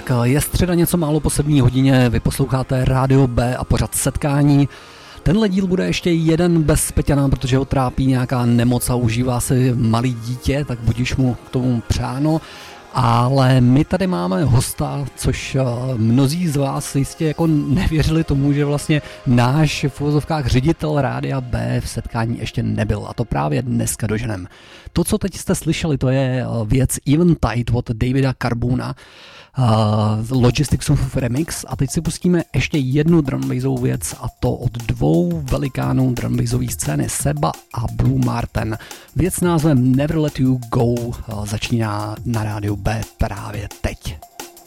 Tak je středa něco málo po 7 hodině, vy posloucháte Rádio B a pořad Setkání. Tenhle díl bude ještě jeden bez Peťana, protože ho trápí nějaká nemoc a užívá si malý dítě, tak budíš mu k tomu přáno. Ale my tady máme hosta, což mnozí z vás jistě jako nevěřili tomu, že vlastně náš v uvozovkách ředitel Rádia B v Setkání ještě nebyl. A to právě dneska doženem. To, co teď jste slyšeli, to je věc Eventide od Davida Carbona, Logisticsův remix. A teď si pustíme ještě jednu drumbassovou věc, a to od dvou velikánů drumbassové scény, Seba a Blue Martin. Věc s názvem Never Let You Go začíná na rádiu B právě teď.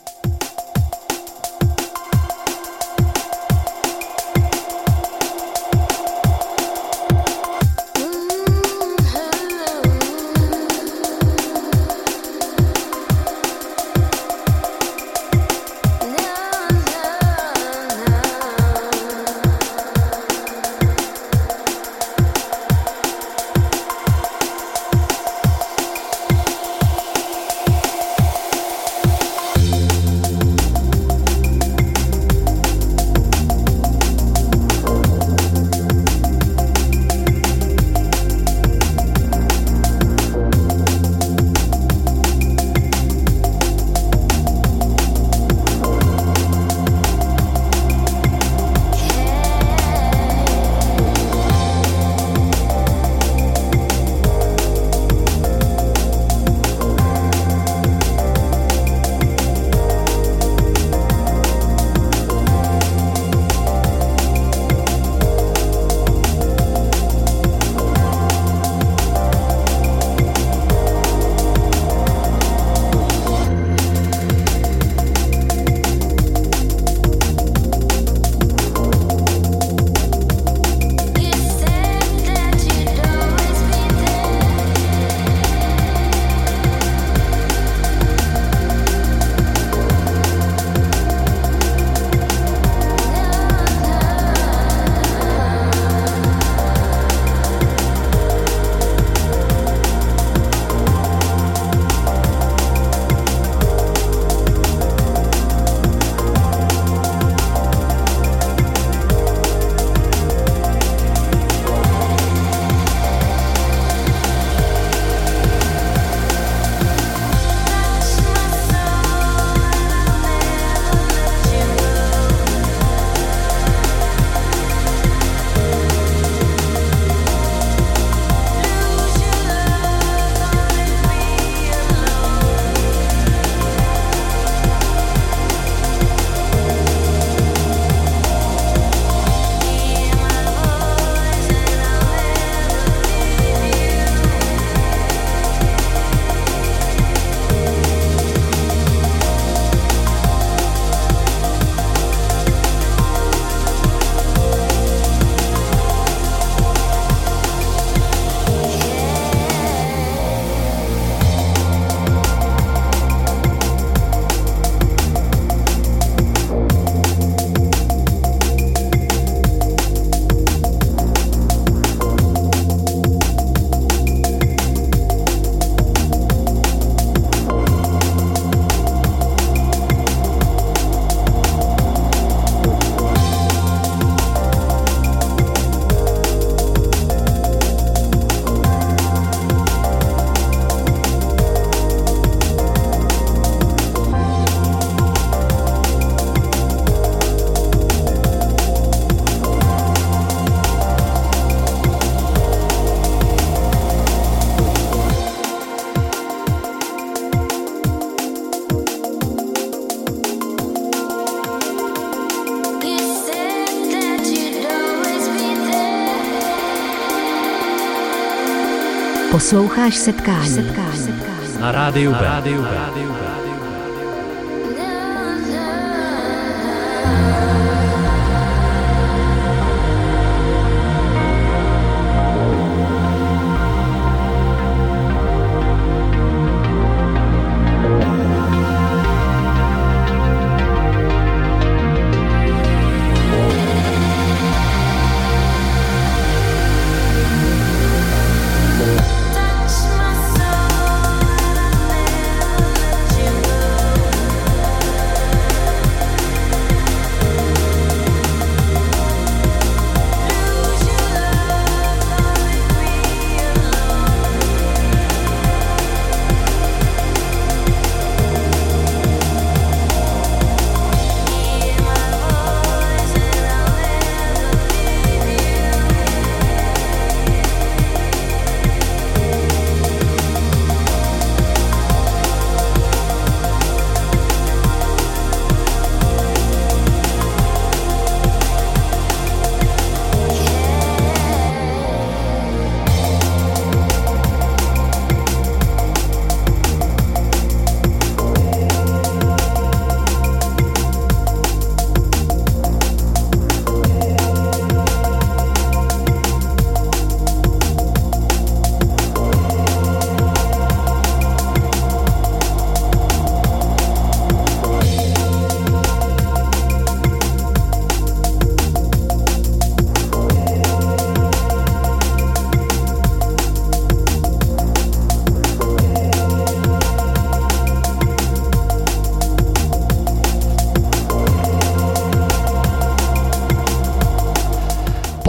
Posloucháš Setkání. Na rádiu B. Touch my soul.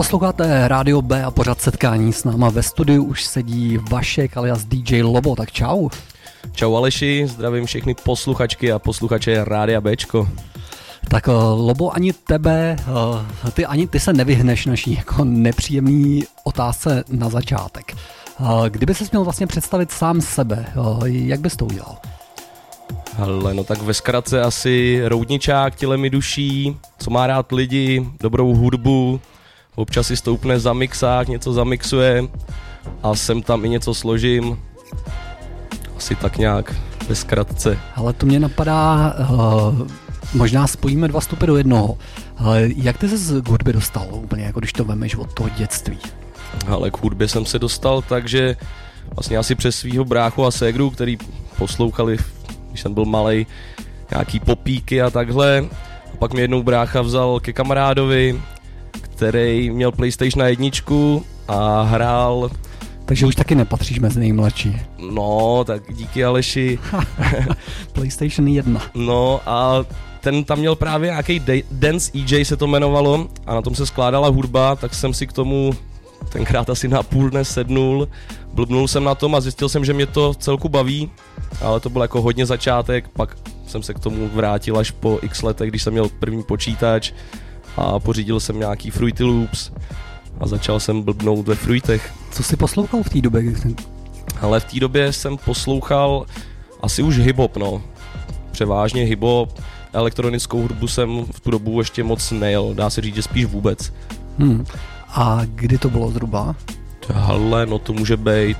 Posloucháte Rádio B a pořad Setkání. S náma ve studiu už sedí Vašek alias DJ Lobo, tak čau. Čau Aleši, zdravím všechny posluchačky a posluchače Rádia Bčko. Tak Lobo, ani ty se nevyhneš naší jako nepříjemný otázce na začátek. Kdyby ses měl vlastně představit sám sebe, jak bys to udělal? Hele, no tak ve zkratce asi roudničák tělem i duší, co má rád lidi, dobrou hudbu, občas si stoupne za mixák, něco zamixuje a sem tam i něco složím. Asi tak nějak ve zkratce. Ale to mě napadá, možná spojíme dva vstupy do jednoho. Jak ty ses k hudbě dostal úplně, jako když to vemeš od toho dětství? Ale k hudbě jsem se dostal, takže vlastně asi přes svýho bráchu a ségru, který poslouchali, když jsem byl malej, nějaký popíky a takhle. A pak mě jednou brácha vzal ke kamarádovi, který měl PlayStation 1 a hrál. Takže už taky nepatříš mezi nejmladší. No, tak díky Aleši. PlayStation 1. No a ten tam měl právě nějaký Dance EJ se to jmenovalo a na tom se skládala hudba, tak jsem si k tomu tenkrát asi na půl dne sednul, blbnul jsem na tom a zjistil jsem, že mě to celku baví, ale to byl jako hodně začátek, pak jsem se k tomu vrátil až po x letech, když jsem měl první počítač a pořídil jsem nějaký Fruity Loops a začal jsem blbnout ve fruitech. Co jsi poslouchal v té době? Ale v té době jsem poslouchal asi už hip-hop, no. Převážně hip-hop, elektronickou hudbu jsem v tu dobu ještě moc nejel, dá se říct, že spíš vůbec. A kdy to bylo zhruba? Hele, no to může být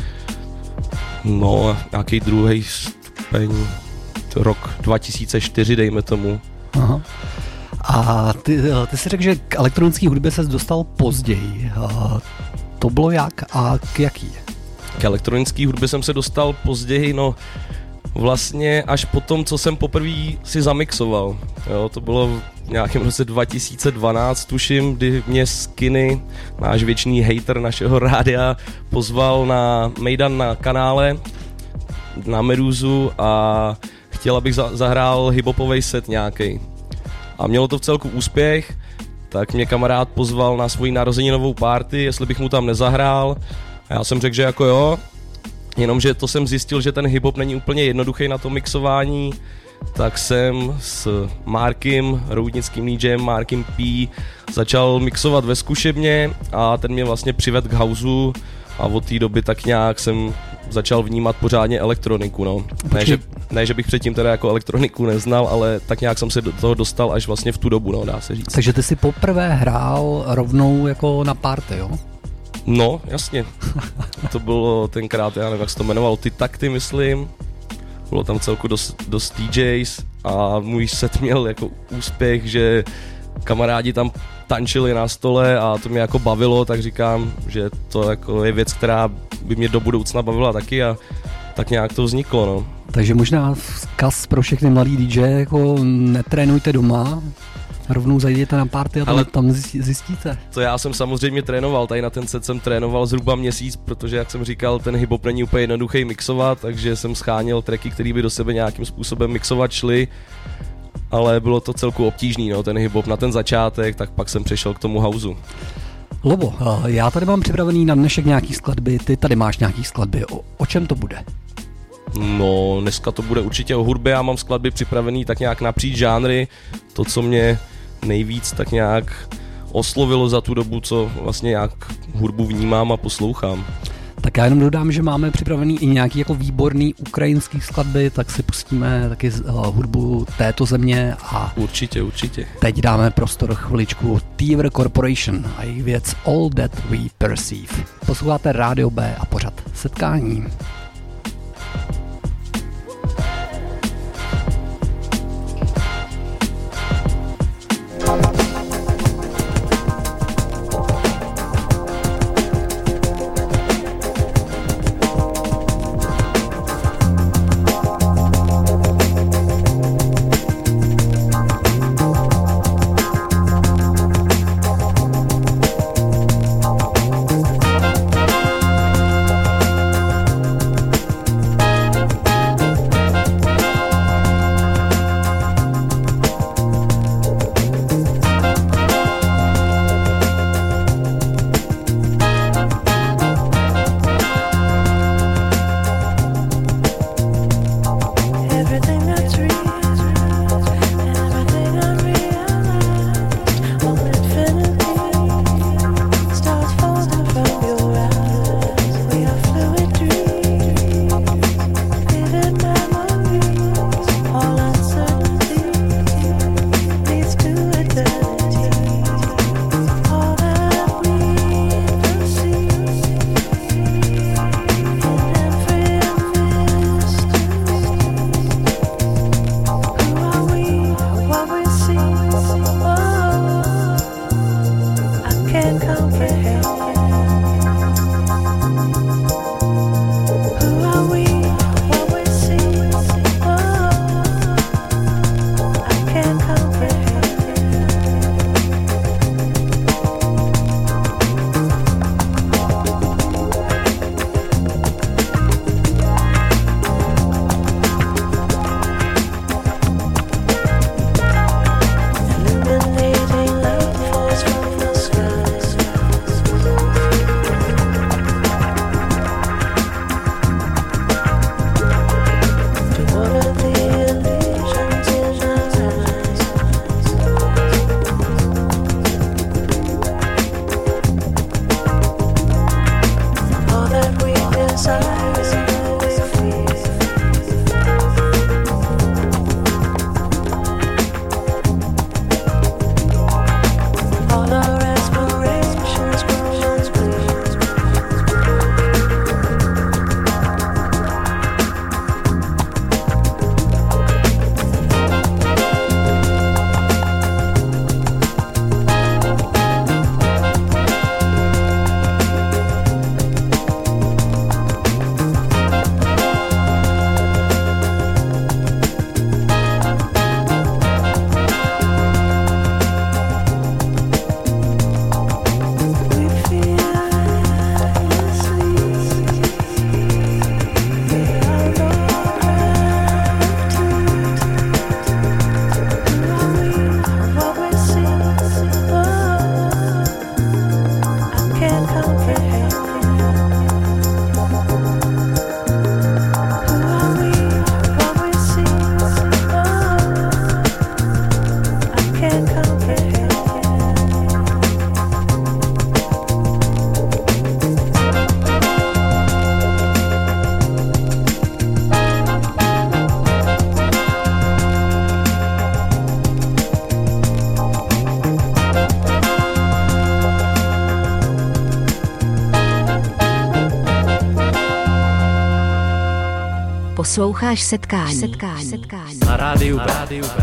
nějaký druhý stupeň, rok 2004, dejme tomu. Aha. A ty jsi řekl, že k elektronické hudbě ses dostal později. To bylo jak a k jaký? K elektronické hudbě jsem se dostal později, no vlastně až po tom, co jsem poprvé si zamixoval. Jo, to bylo v nějakém roce 2012, tuším, kdy mě Skinny, náš věčný hater našeho rádia, pozval na Mejdan na kanále, na Meduzu a chtěl, abych zahrál hiphopovej set nějaký. A mělo to v celku úspěch, tak mě kamarád pozval na svoji narozeninovou party, jestli bych mu tam nezahrál. A já jsem řekl, že jako jo, jenomže to jsem zjistil, že ten hip-hop není úplně jednoduchý na to mixování, tak jsem s Markem, roudnickým DJem Markem P, začal mixovat ve zkušebně a ten mě vlastně přivedl k houseu a od té doby tak nějak jsem začal vnímat pořádně elektroniku, no. Ne, že bych předtím teda jako elektroniku neznal, ale tak nějak jsem se do toho dostal až vlastně v tu dobu, no, dá se říct. Takže ty jsi poprvé hrál rovnou jako na party, jo? No, jasně. To bylo tenkrát, já nevím, jak se to jmenovalo, Ty takty, myslím. Bylo tam celku dost DJs a můj set měl jako úspěch, že kamarádi tam tančili na stole a to mě jako bavilo, tak říkám, že to jako je věc, která by mě do budoucna bavila taky a tak nějak to vzniklo, no. Takže možná vzkaz pro všechny mladý DJ, jako netrénujte doma, rovnou zajděte na party a tam zjistíte. To já jsem samozřejmě trénoval, tady na ten set jsem trénoval zhruba měsíc, protože jak jsem říkal, ten hip-hop není úplně jednoduchý mixovat, takže jsem scháněl tracky, které by do sebe nějakým způsobem mixovat šly, ale bylo to celku obtížný, no, ten hip-hop na ten začátek, tak pak jsem přešel k tomu houseu. Lobo, já tady mám připravený na dnešek nějaký skladby, ty tady máš nějaký skladby, o čem to bude? No, dneska to bude určitě o hudbě, já mám skladby připravený tak nějak napříč žánry, to, co mě nejvíc tak nějak oslovilo za tu dobu, co vlastně nějak hudbu vnímám a poslouchám. Tak já jenom dodám, že máme připravený i nějaký jako výborný ukrajinský skladby, tak si pustíme taky hudbu této země a určitě. Teď dáme prostor chviličku Thiever Corporation a jejich věc All That We Perceive. Posloucháte Rádio B a pořad Setkání. Posloucháš setkání. Na rádiu B.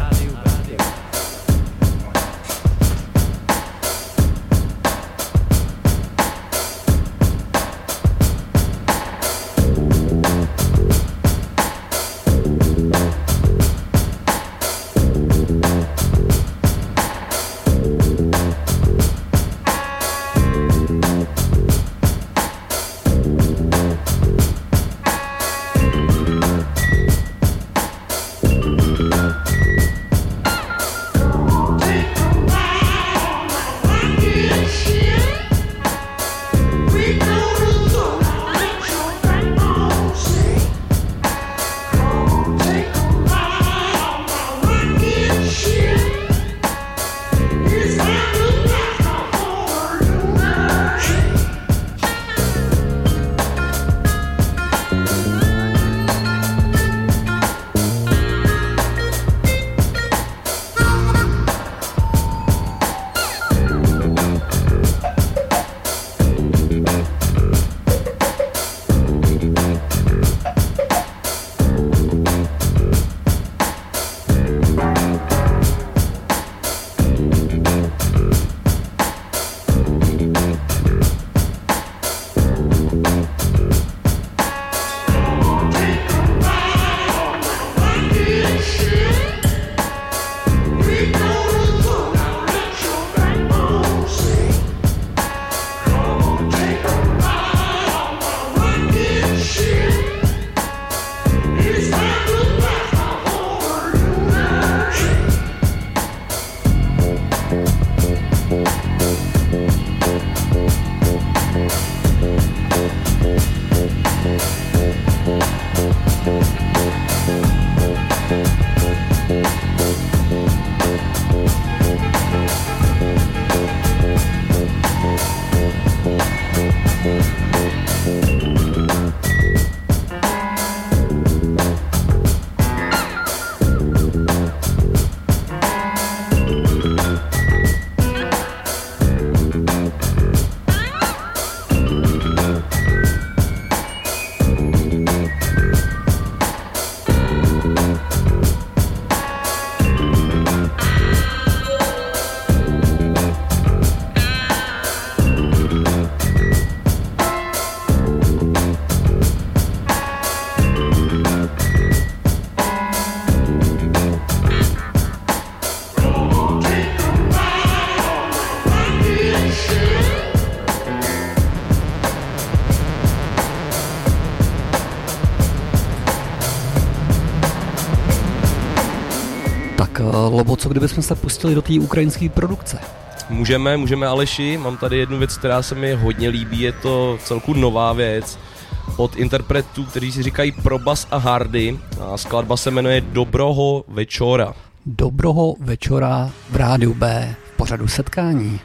Lobo, co kdybychom se pustili do té ukrajinské produkce? Můžeme Aleši, mám tady jednu věc, která se mi hodně líbí, je to celku nová věc od interpretů, kteří si říkají Probas a Hardy a skladba se jmenuje Dobroho večora. Dobroho večora v rádiu B v pořadu setkání.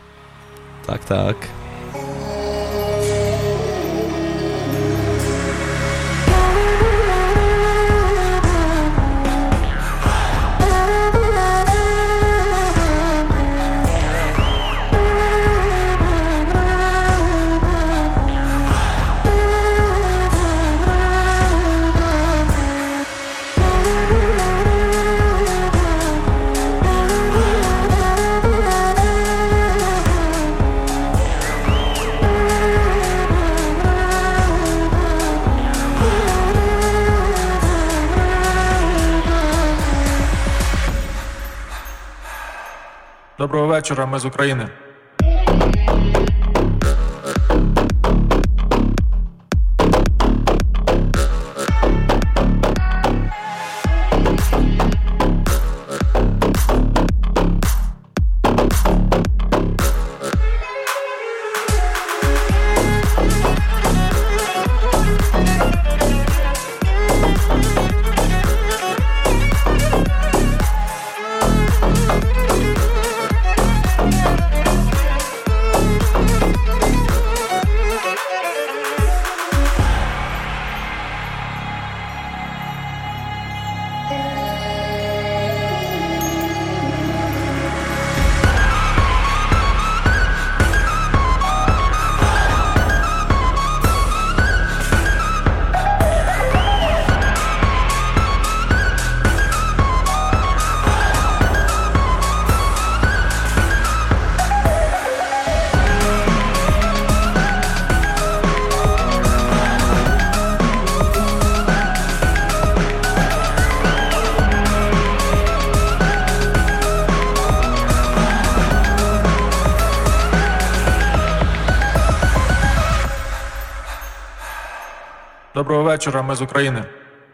Tak. Доброго вечора, ми з України. Доброго вечора, ми з України.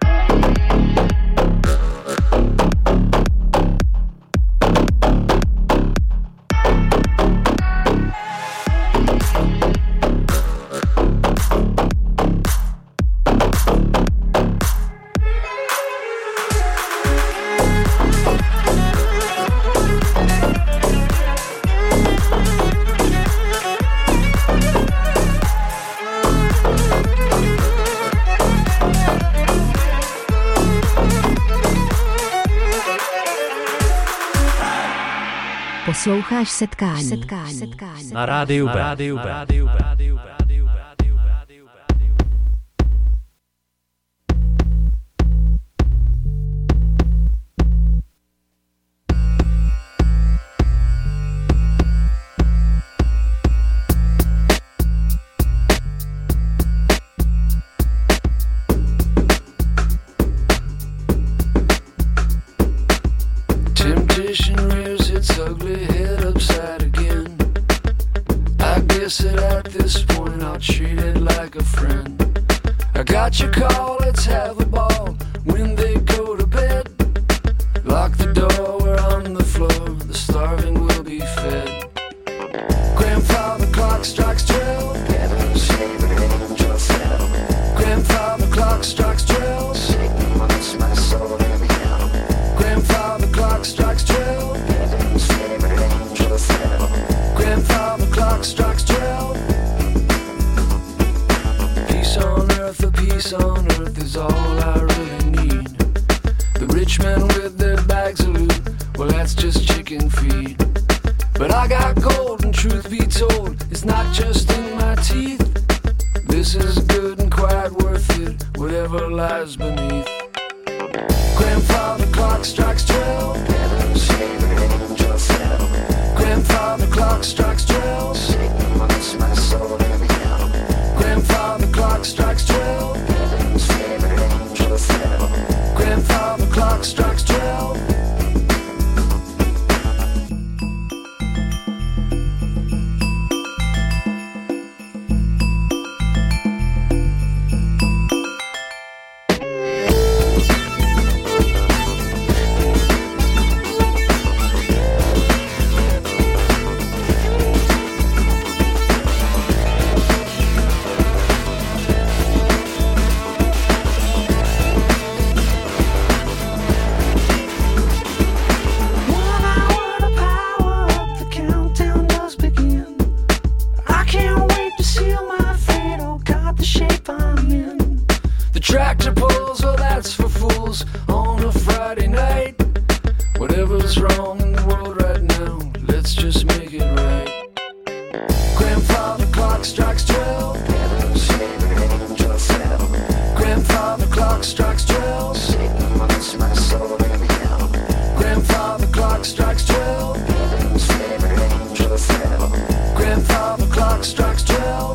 Posloucháš setkání. Na rádiu B. Temptation rears its ugly head upside again. I guess that at this point I'll treat it like a friend. I got your call, let's have a ball. When they go to bed, lock the door, we're on the floor. The starving will be fed. Grandfather clock strikes 12. Grandfather clock strikes 12. Grandfather clock strikes 12. Grandfather clock strikes 12. Peace on earth, a peace on earth is all I really need. The rich men with their bags of loot, well that's just chicken feed. But I got gold and truth be told, it's not just in my teeth. This is good and quite worth it, whatever lies beneath. Grandfather clock strikes 12. Grandfather clock strikes 12. Grandfather clock strikes 12. Grandfather clock strikes 12. Tractor pulls, well that's for fools on a Friday night. Whatever's wrong in the world right now, let's just make it right. Grandfather clock strikes 12. Grandfather clock strikes 12. Grandfather clock strikes 12. Grandfather clock strikes 12.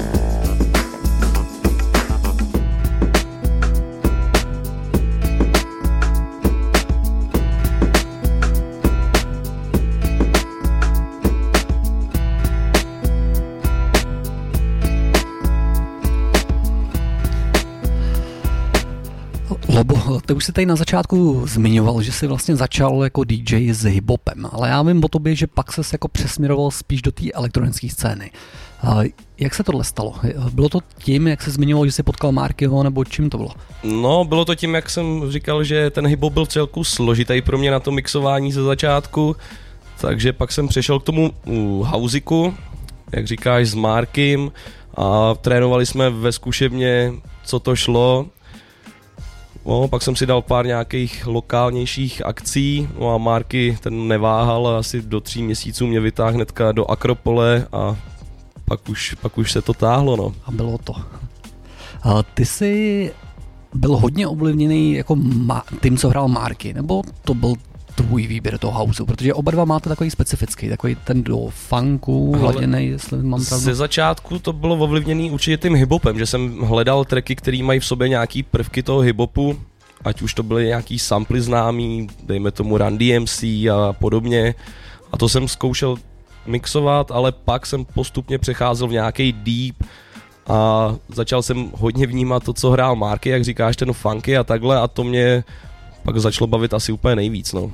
Lobo, ty už si tady na začátku zmiňoval, že jsi vlastně začal jako DJ s hiphopem, ale já vím o tobě, že pak ses jako přesměroval spíš do té elektronické scény. Jak se tohle stalo? Bylo to tím, jak jsi zmiňoval, že jsi potkal Markyho, nebo čím to bylo? No, bylo to tím, jak jsem říkal, že ten hiphop byl celku složitý pro mě na to mixování ze začátku, takže pak jsem přešel k tomu housiku, jak říkáš, s Markym a trénovali jsme ve zkušebně, co to šlo. No, pak jsem si dal pár nějakých lokálnějších akcí, no a Marky ten neváhal a asi do 3 měsíců mě vytáhl hnedka do Akropole a pak už se to táhlo, no. A bylo to. Ty jsi byl hodně ovlivněný jako tím, co hrál Marky, nebo to byl tvůj výběr toho houseu, protože oba dva máte takový specifický, takový ten do funku hladěnej, jestli mám pravdu. Ze začátku to bylo ovlivněný určitě tím hiphopem, že jsem hledal tracky, který mají v sobě nějaký prvky toho hiphopu, ať už to byly nějaký samply známý, dejme tomu Run DMC a podobně, a to jsem zkoušel mixovat, ale pak jsem postupně přecházel v nějaký deep a začal jsem hodně vnímat to, co hrál Marky, jak říkáš, ten funky a takhle a to mě pak začalo bavit asi úplně nejvíc, no.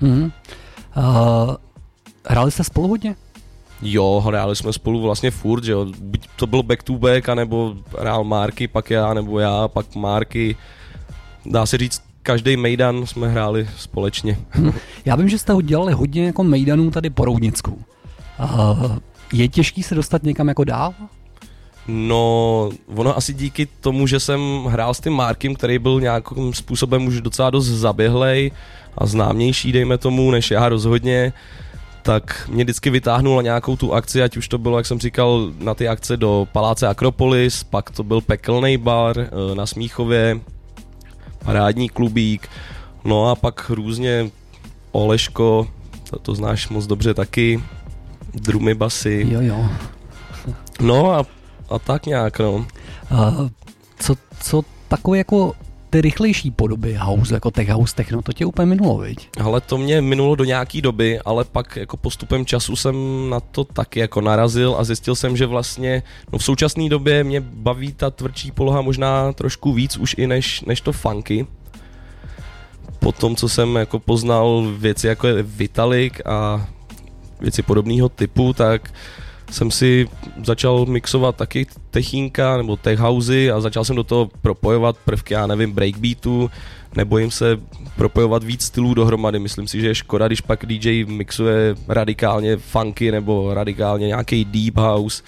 Hráli jste spolu hodně? Jo, hráli jsme spolu vlastně furt, že jo, buď to bylo back to back, anebo hrál Marky, pak já, nebo já, pak Marky. Dá se říct, každý mejdan jsme hráli společně. Já vím, že jste dělali hodně jako mejdanů tady po Roudnicku. Je těžký se dostat někam jako dál? No, ono asi díky tomu, že jsem hrál s tím Markem, který byl nějakým způsobem už docela dost zaběhlej a známější, dejme tomu, než já rozhodně, tak mě vždycky vytáhnul na nějakou tu akci, ať už to bylo, jak jsem říkal, na ty akce do Paláce Akropolis, pak to byl Pekelný bar na Smíchově, parádní klubík, no a pak různě Oleško, to znáš moc dobře taky, drumy, basy. Jo. No a tak nějak, no. Co takové jako ty rychlejší podoby house, jako tech house, techno, to tě úplně minulo, viď? Ale to mě minulo do nějaký doby, ale pak jako postupem času jsem na to taky jako narazil a zjistil jsem, že vlastně v současné době mě baví ta tvrdší poloha možná trošku víc už i než to funky. Po tom, co jsem jako poznal věci jako je Vitalik a věci podobného typu, tak jsem si začal mixovat taky techínka nebo tech housey a začal jsem do toho propojovat prvky, já nevím, breakbeatu, nebojím se propojovat víc stylů dohromady, myslím si, že je škoda, když pak DJ mixuje radikálně funky nebo radikálně nějaký deep house.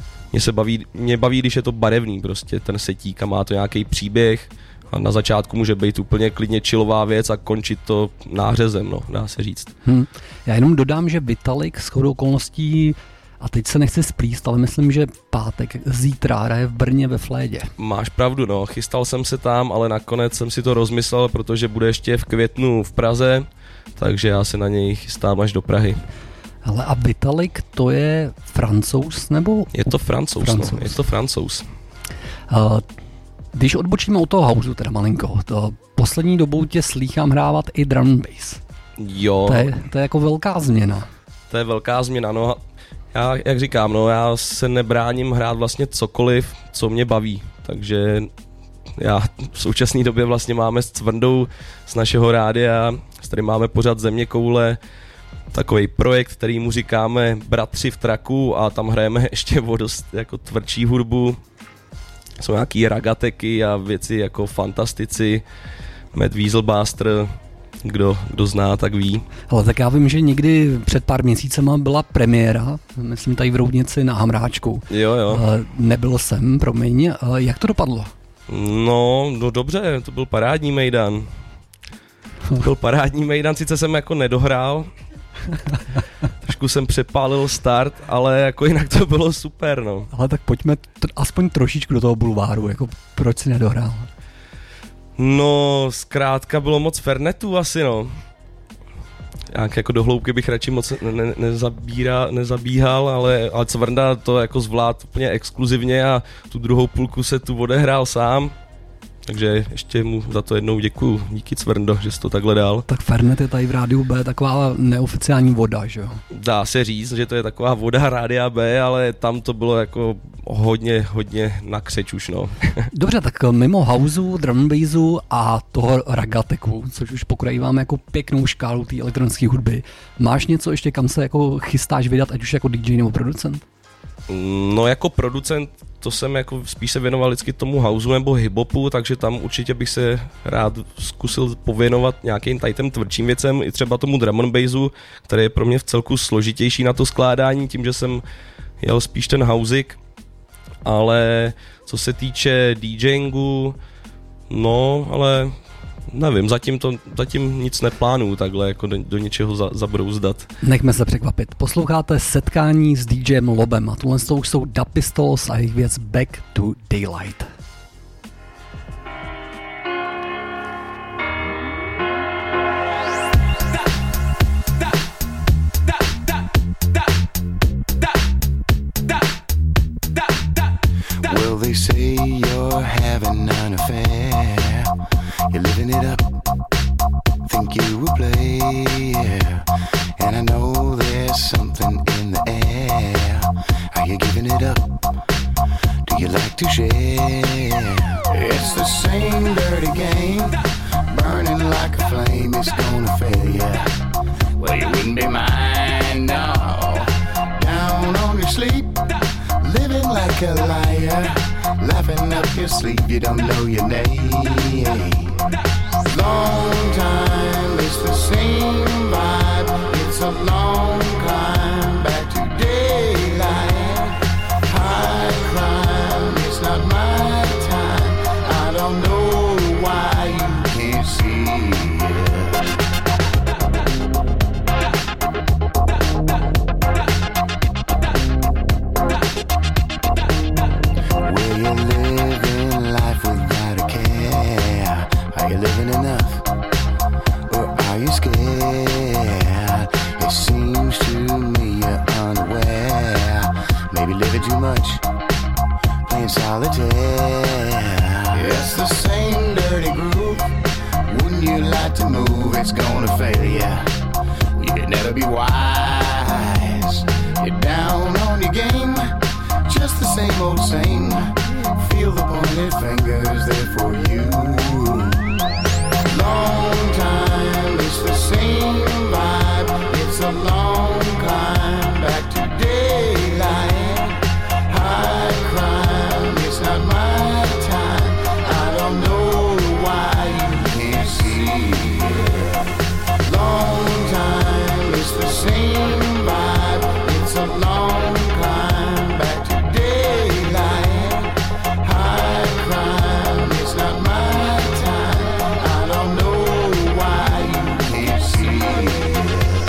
Mě baví, když je to barevný prostě, ten setík a má to nějaký příběh a na začátku může být úplně klidně chillová věc a končit to nářezem, no, dá se říct. Já jenom dodám, že Vitalik shodou okolností, a teď se nechci splíst, ale myslím, že pátek, zítra hraje v Brně ve Flédě. Máš pravdu, no, chystal jsem se tam, ale nakonec jsem si to rozmyslel, protože bude ještě v květnu v Praze, takže já se na něj chystám až do Prahy. Ale a Vitalik, to je Francouz, nebo? Je to Francouz. No, je to Francouz. Když odbočíme od toho houseu, teda malinko, to poslední dobou tě slýchám hrávat i drum and bass. Jo. To je jako velká změna. To je velká změna, no. Já, jak říkám, no, já se nebráním hrát vlastně cokoliv, co mě baví, takže já v současné době vlastně máme s Cvrndou z našeho rádia, s kterým máme pořád Zeměkoule, takový projekt, který mu říkáme Bratři v traku a tam hrajeme ještě o dost jako tvrdší hudbu. Jsou nějaký ragateky a věci jako Fantastici, Mad Weaselbuster, kdo zná, tak ví. Ale tak já vím, že někdy před pár měsícema byla premiéra, myslím tady v Roudnici na Hamráčku. Jo. Nebyl jsem, promiň. Jak to dopadlo? No dobře, to byl parádní mejdan. Sice jsem jako nedohrál, trošku jsem přepálil start, ale jako jinak to bylo super, no. Ale tak pojďme aspoň trošičku do toho bulváru, jako proč si nedohrál? No, zkrátka bylo moc fernetů asi, no. Jak jako do hloubky bych radši moc nezabíhal, ale Cvrnda to jako zvlád úplně exkluzivně a tu druhou půlku se tu odehrál sám. Takže ještě mu za to jednou děkuju. Díky Cvrndo, že jsi to takhle dal. Tak Fernet je tady v Rádiu B taková neoficiální voda, že jo? Dá se říct, že to je taková voda Rádia B, ale tam to bylo jako hodně na křeč už, no. Dobře, tak mimo houseu, drum and bassu a toho ragateku, což už pokrýváme jako pěknou škálu té elektronické hudby, máš něco ještě, kam se jako chystáš vydat, ať už jako DJ nebo producent? No jako producent to jsem jako spíš se věnoval vždycky tomu houseu nebo hiphopu, takže tam určitě bych se rád zkusil pověnovat nějakým tady těm tvrdším věcem, i třeba tomu drum and bassu, který je pro mě v celku složitější na to skládání, tím, že jsem jel spíš ten houseik, ale co se týče DJingu, no, ale nevím, zatím nic neplánuju takhle jako do něčeho zabrouzdat. Nechme se překvapit. Posloucháte Setkání s DJem Lobem a tuhle jsou Da Pistols a jejich věc Back to Daylight. Well, they say you're having an affair. You're living it up, think you will play, yeah. And I know there's something in the air. Are you giving it up? Do you like to share. It's the same dirty game, burning like a flame. It's gonna fail ya. Well, you wouldn't be mine, no. Down on your sleep, living like a liar, laughing up your sleeve. You don't know your name. Long time, it's the same vibe. It's a long climb back to daylight. High crime, it's not my time. I don't know why you can't see it. Well, you're living life without a care. Are you living enough? Or are you scared? It seems to me you're unaware. Maybe living too much, playing solitaire. It's the same dirty groove. Wouldn't you like to move? It's gonna fail ya. You could never be wise. You're down on your game, just the same old same. Feel the pointed fingers there for you. Long time, it's the same vibe. It's a long climb back to daylight. High crime, it's not my time. I don't know why you can't see it. Long time, it's the same vibe. It's a long climb back to daylight. High crime, it's not my time. I don't know why you can't see it.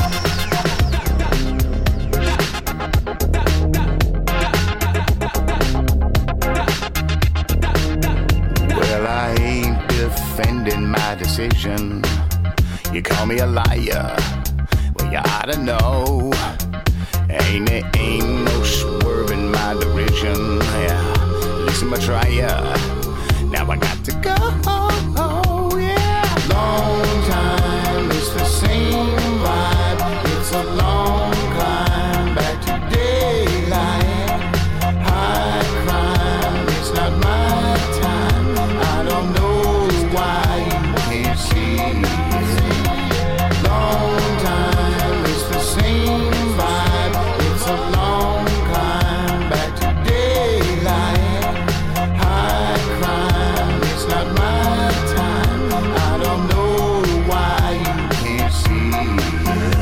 Well, I ain't defending my decision. You call me a liar. Well, you ought to know. Ain't no swerving my derision. Yeah, listen, I try ya. Now I got to go. Yeah, long time. It's the same vibe. It's a long climb back to daylight. High crime. It's not my time. I don't know why you can't see it. Long time. It's the same vibe. It's a long climb back to daylight. High crime. It's not my time. I don't know why you can't see it.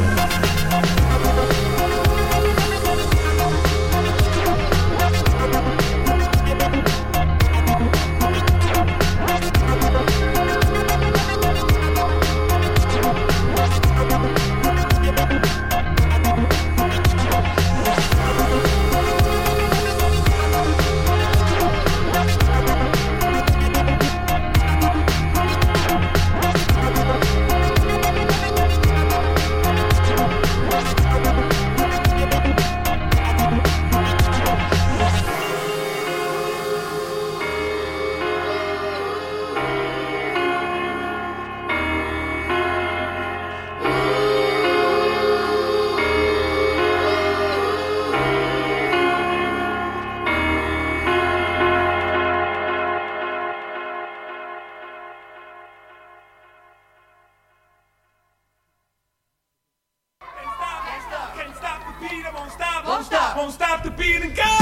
Can't stop the beat, I won't stop. Won't stop the beat and go.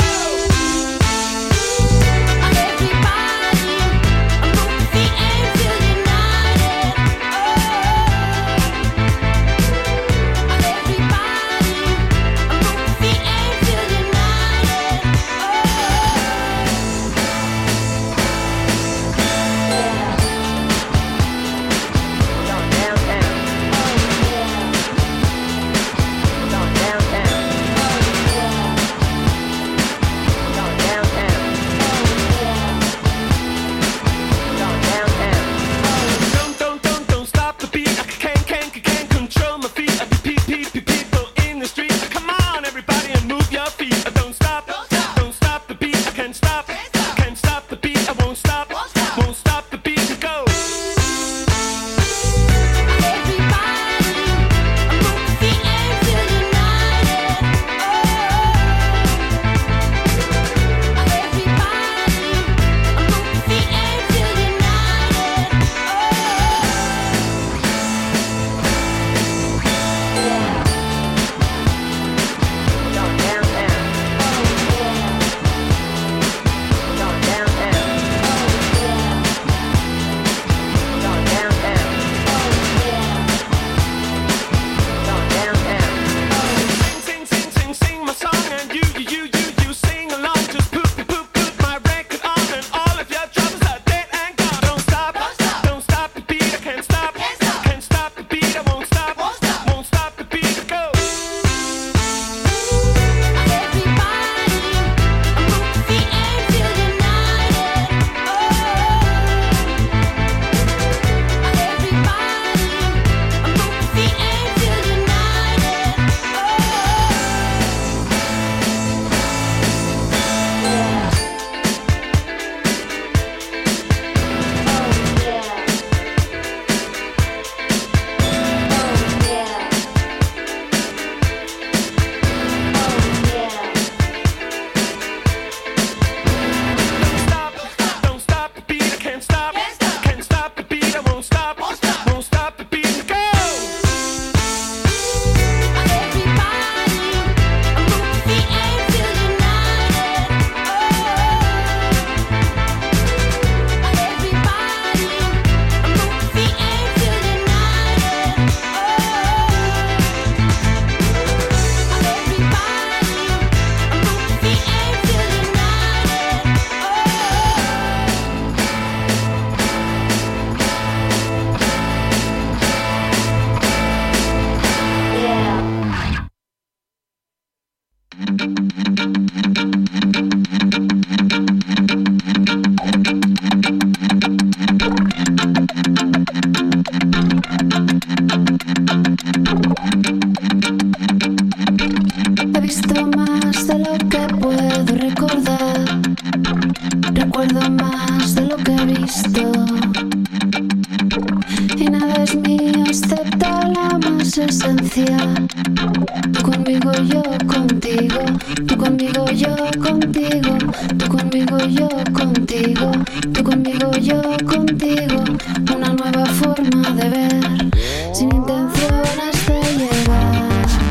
Downtown. más esencial. Tú conmigo, yo contigo. Tú conmigo, yo contigo. Tú conmigo, yo contigo. Tú conmigo, yo contigo. Una nueva forma de ver, sin intenciones de llegar.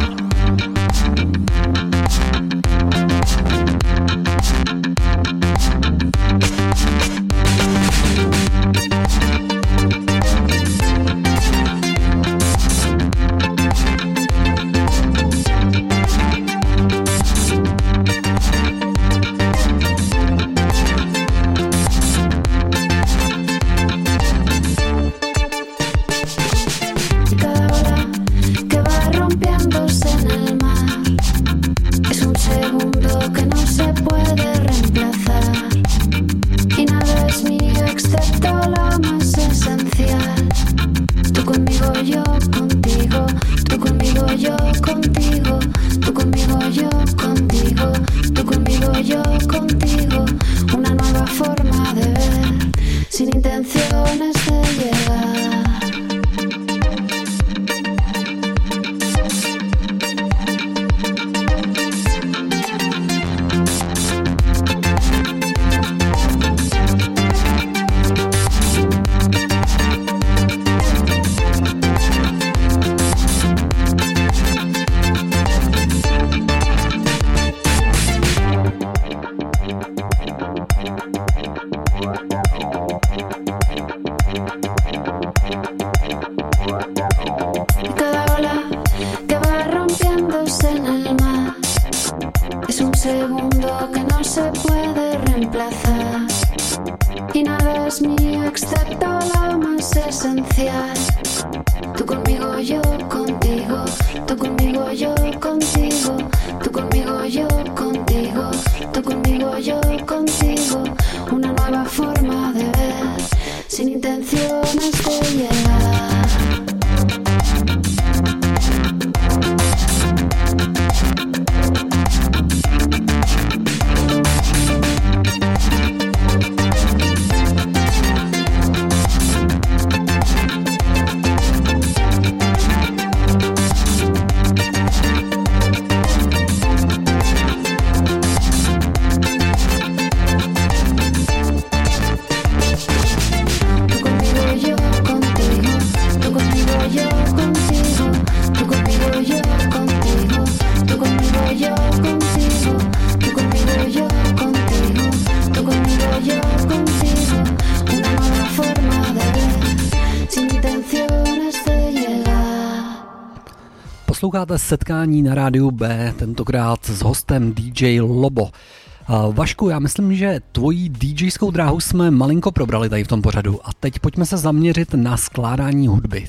Posloucháte Setkání na rádiu B, tentokrát s hostem DJ Lobo. Vašku, já myslím, že tvoji DJskou dráhu jsme malinko probrali tady v tom pořadu a teď pojďme se zaměřit na skládání hudby.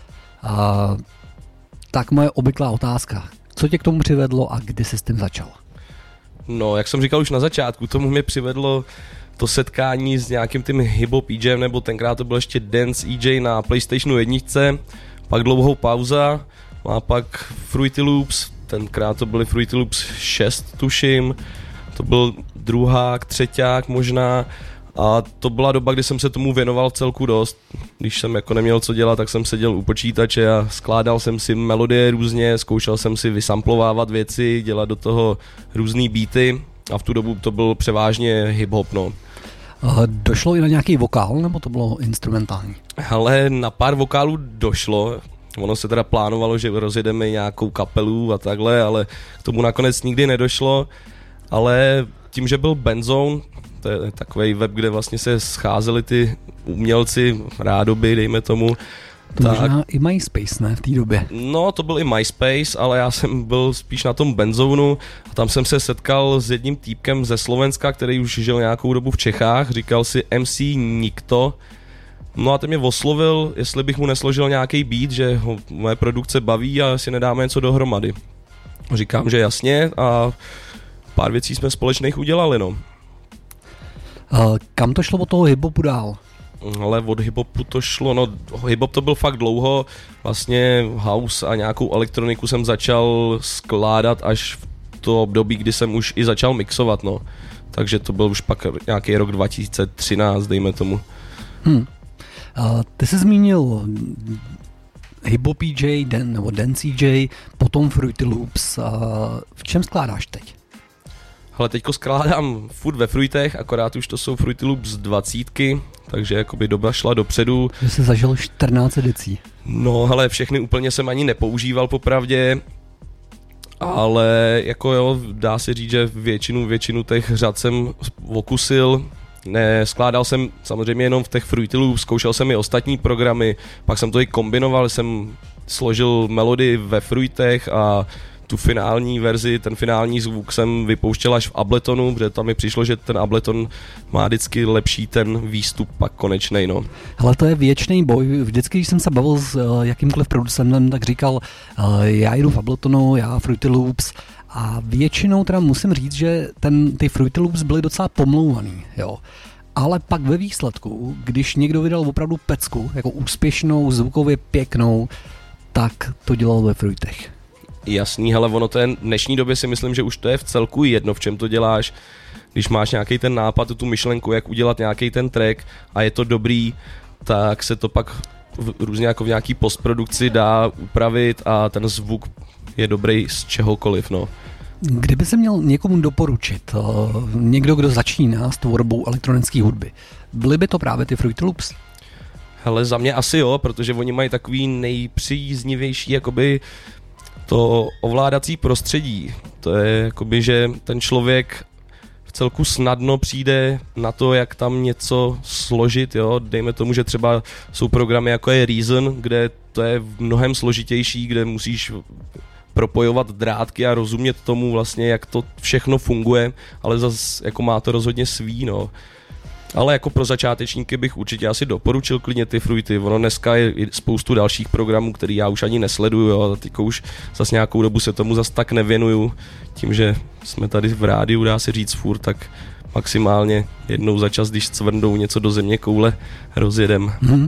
Tak moje obvyklá otázka. Co tě k tomu přivedlo a kdy jsi s tím začal? No, jak jsem říkal už na začátku, tomu mě přivedlo to setkání s nějakým tím hip-hop EJem, nebo tenkrát to byl ještě dance EJ na PlayStationu 1, pak dlouhou pauza, a pak Fruity Loops, tenkrát to byly Fruity Loops 6, tuším, to byl druhák, třeťák možná, a to byla doba, kdy jsem se tomu věnoval celku dost. Když jsem jako neměl co dělat, tak jsem seděl u počítače a skládal jsem si melodie různě, zkoušel jsem si vysamplovávat věci, dělat do toho různý beaty a v tu dobu to byl převážně hip-hop, no. Došlo i na nějaký vokál, nebo to bylo instrumentální? Ale na pár vokálů došlo. Ono se teda plánovalo, že rozjedeme nějakou kapelu a takhle, ale k tomu nakonec nikdy nedošlo. Ale tím, že byl Benzone, to je takovej web, kde vlastně se scházeli ty umělci, rádoby, dejme tomu. To tak, možná i MySpace, ne, v té době? No, to byl i MySpace, ale já jsem byl spíš na tom Benzonu a tam jsem se setkal s jedním týpkem ze Slovenska, který už žil nějakou dobu v Čechách, říkal si MC Nikto. No a ten mě oslovil, jestli bych mu nesložil nějaký beat, že ho moje produkce baví a si nedáme něco dohromady. Říkám, že jasně a pár věcí jsme společných udělali, no. Kam to šlo od toho hip-hopu dál? Ale od hip-hopu to šlo, no hip-hop to byl fakt dlouho, vlastně house a nějakou elektroniku jsem začal skládat až v to období, kdy jsem už i začal mixovat, no. Takže to byl už pak nějaký rok 2013, dejme tomu. Ty jsi zmínil Hip-hop DJ, nebo Dance DJ, potom Fruity Loops. V čem skládáš teď? Ale teďko skládám furt ve Fruitech, akorát už to jsou Fruity Loops 20, takže jakoby doba šla dopředu. Že jsi zažil 14 edicí. No, hele, všechny úplně jsem ani nepoužíval popravdě, ale jako jo, dá se říct, že většinu těch řad jsem okusil. Skládal jsem samozřejmě jenom v těch Fruity Loops, zkoušel jsem i ostatní programy, pak jsem to i kombinoval, jsem složil melodii ve Fruitech a tu finální verzi, ten finální zvuk jsem vypouštěl až v Abletonu, protože tam mi přišlo, že ten Ableton má vždycky lepší ten výstup pak konečnej, no. Ale to je věčný boj. Vždycky, když jsem se bavil s jakýmkoliv producentem, tak říkal, já jdu v Abletonu, já Fruity Loops, a většinou teda musím říct, že ty Fruity Loops byly docela pomlouvaný, jo. Ale pak ve výsledku, když někdo vydal opravdu pecku, jako úspěšnou, zvukově pěknou, tak to dělal ve Fruitech. Jasný, hele, ono to je v dnešní době si myslím, že už to je v celku jedno, v čem to děláš. Když máš nějaký ten nápad, tu myšlenku, jak udělat nějaký ten track a je to dobrý, tak se to pak různě jako v nějaký postprodukci dá upravit a ten zvuk je dobrý z čehokoliv, no. Kdyby se měl někomu doporučit, někdo, kdo začíná s tvorbou elektronické hudby, byly by to právě ty Fruity Loops? Hele, za mě asi jo, protože oni mají takový nejpříznivější jakoby to ovládací prostředí. To je jakoby, že ten člověk v celku snadno přijde na to, jak tam něco složit, jo. Dejme tomu, že třeba jsou programy jako je Reason, kde to je mnohem složitější, kde musíš propojovat drátky a rozumět tomu vlastně, jak to všechno funguje, ale zase jako má to rozhodně svý, no. Ale jako pro začátečníky bych určitě asi doporučil klidně ty Fruity. Ono dneska je spoustu dalších programů, který já už ani nesleduju, jo. Teďko už zase nějakou dobu se tomu zase tak nevěnuju. Tím, že jsme tady v rádiu, dá se říct furt, tak maximálně jednou za čas, když cvrndou něco do země koule, rozjedem.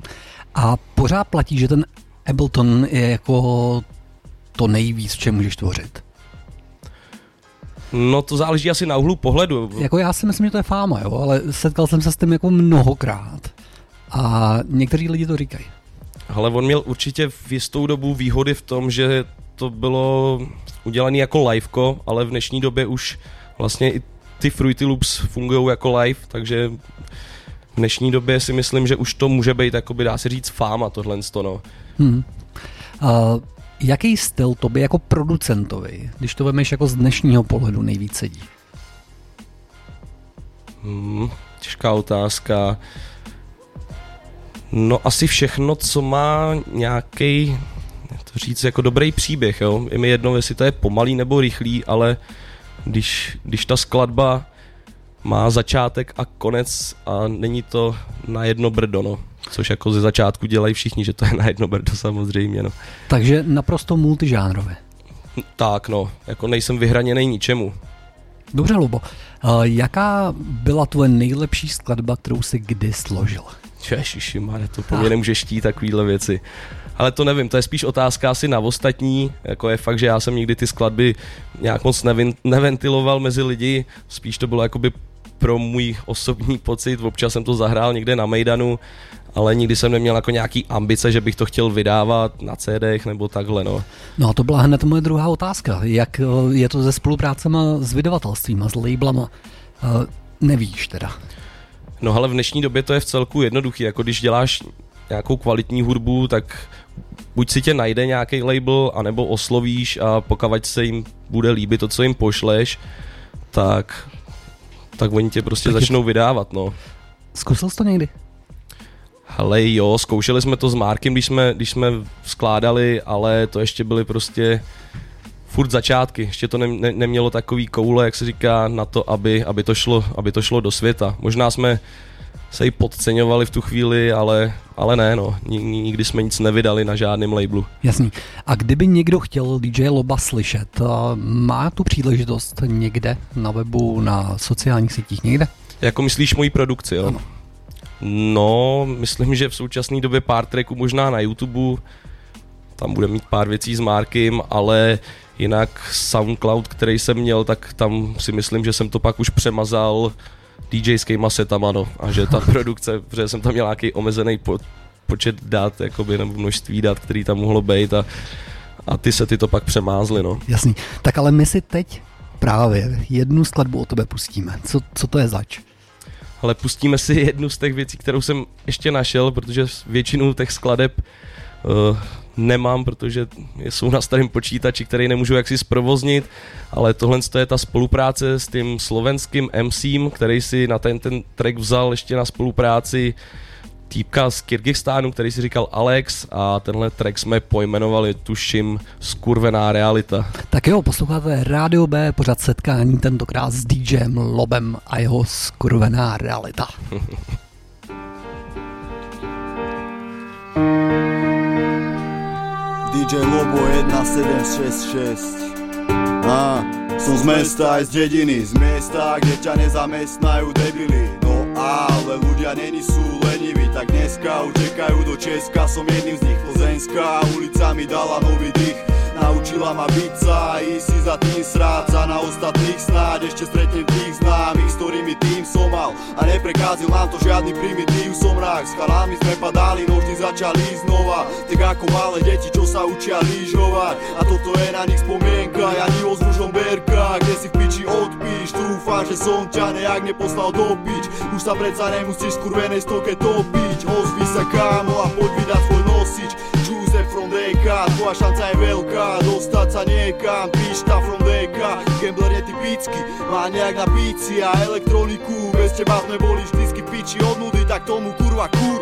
A pořád platí, že ten Ableton je jako to nejvíc, v čem můžeš tvořit? No to záleží asi na úhlu pohledu. Jako já si myslím, že to je fáma, jo, ale setkal jsem se s tím jako mnohokrát a někteří lidi to říkají. Ale on měl určitě v jistou dobu výhody v tom, že to bylo udělané jako liveko, ale v dnešní době už vlastně i ty Fruity Loops fungují jako live, takže v dnešní době si myslím, že už to může být, jakoby dá se říct, fáma tohle, no. Jaký styl tobě jako producentovi, když to vemeš jako z dnešního pohledu, nejvíc sedí? Těžká otázka. No asi všechno, co má nějaký, to říct, jako dobrý příběh, jo. Je mi jedno, jestli to je pomalý nebo rychlý, ale když ta skladba má začátek a konec a není to na jedno brdo, no. Což jako ze začátku dělají všichni, že to je na jedno brdo samozřejmě, no. Takže naprosto multižánrové. Tak, no, jako nejsem vyhraněný ničemu. Dobře, Lubo. Jaká byla tvoje nejlepší skladba, kterou jsi kdy složil? Ježišimare, to po mě nemůžeš štít takovýhle věci. Ale to nevím, to je spíš otázka asi na ostatní, jako je fakt, že já jsem nikdy ty skladby nějak moc neventiloval mezi lidi, spíš to bylo jakoby pro můj osobní pocit, občas jsem to zahrál někde na Mejdanu, ale nikdy jsem neměl jako nějaký ambice, že bych to chtěl vydávat na CDech nebo takhle, no. No a to byla hned moje druhá otázka, jak je to se spoluprácema s vydavatelstvím a s labelama, nevíš teda? No ale v dnešní době to je v celku jednoduchý, jako když děláš nějakou kvalitní hudbu, tak buď si tě najde nějaký label, anebo oslovíš a pokud se jim bude líbit to, co jim pošleš, tak oni tě prostě začnou vydávat, no. Zkusil jsi to někdy? Hele jo, zkoušeli jsme to s Markem, když jsme skládali, ale to ještě byly prostě furt začátky, ještě to nemělo takový koule, jak se říká, na to, aby to šlo do světa. Možná jsme se i podceňovali v tu chvíli, ale ne, no, nikdy jsme nic nevydali na žádném labelu. Jasný. A kdyby někdo chtěl DJ Loba slyšet, má tu příležitost někde na webu, na sociálních sítích, někde? Jako myslíš moji produkci, jo? Ano. No, myslím, že v současné době pár tracků možná na YouTube, tam bude mít pár věcí s Markem, ale jinak SoundCloud, který jsem měl, tak tam si myslím, že jsem to pak už přemazal DJskýma setama, no, a že ta produkce, protože jsem tam měl nějaký omezený počet dat, jakoby, nebo množství dat, který tam mohlo být a ty sety to pak přemázly, no. Jasný. Tak ale my si teď právě jednu skladbu o tebe pustíme. Co to je zač? Ale pustíme si jednu z těch věcí, kterou jsem ještě našel, protože většinu těch skladeb nemám, protože jsou na starém počítači, který nemůžu jaksi zprovoznit, ale tohle je ta spolupráce s tím slovenským MCem, který si na ten track vzal ještě na spolupráci týpka z Kyrgyzstánu, který si říkal Alex, a tenhle track jsme pojmenovali, tuším, Skurvená realita. Tak jo, posloucháte Rádio B, pořad setkání, tentokrát s DJem Lobem a jeho Skurvená realita. DJ Lobo 1766. Som z mesta aj z dediny, z miesta, kde ťa nezamestnajú debili. No ale ľudia není sú leniví, tak dneska utekajú do Česka, som jedným z nich. Plzeňská ulica mi dala nový dých, naučila ma byť sa a ísť si za tým sráť sa. Na ostatných snáď ešte stretnem tých známych, s ktorými tým som mal a neprekázil nám to žiadny primitív. Som rák, s chalami sme padali, no vždy začali znova, tak ako malé deti, čo sa učia lyžovať. A toto je na nich spomienka, ja nivo s mužom Berka, kde si v piči odpíš. Trúfam, že som ťa nejak neposlal do pič, už sa predsa nemusíš skurvenej stoke topiť. Ozvi sa kámo a poď vydať svoj nosič. Joseph from DK, tvoja šanca je veľká, dostať sa niekam. Pišta from DK, gambler je typický, má nejak na píci a elektroniku. Bez teba sme boli vždycky piči od nudy, tak tomu kurva kur.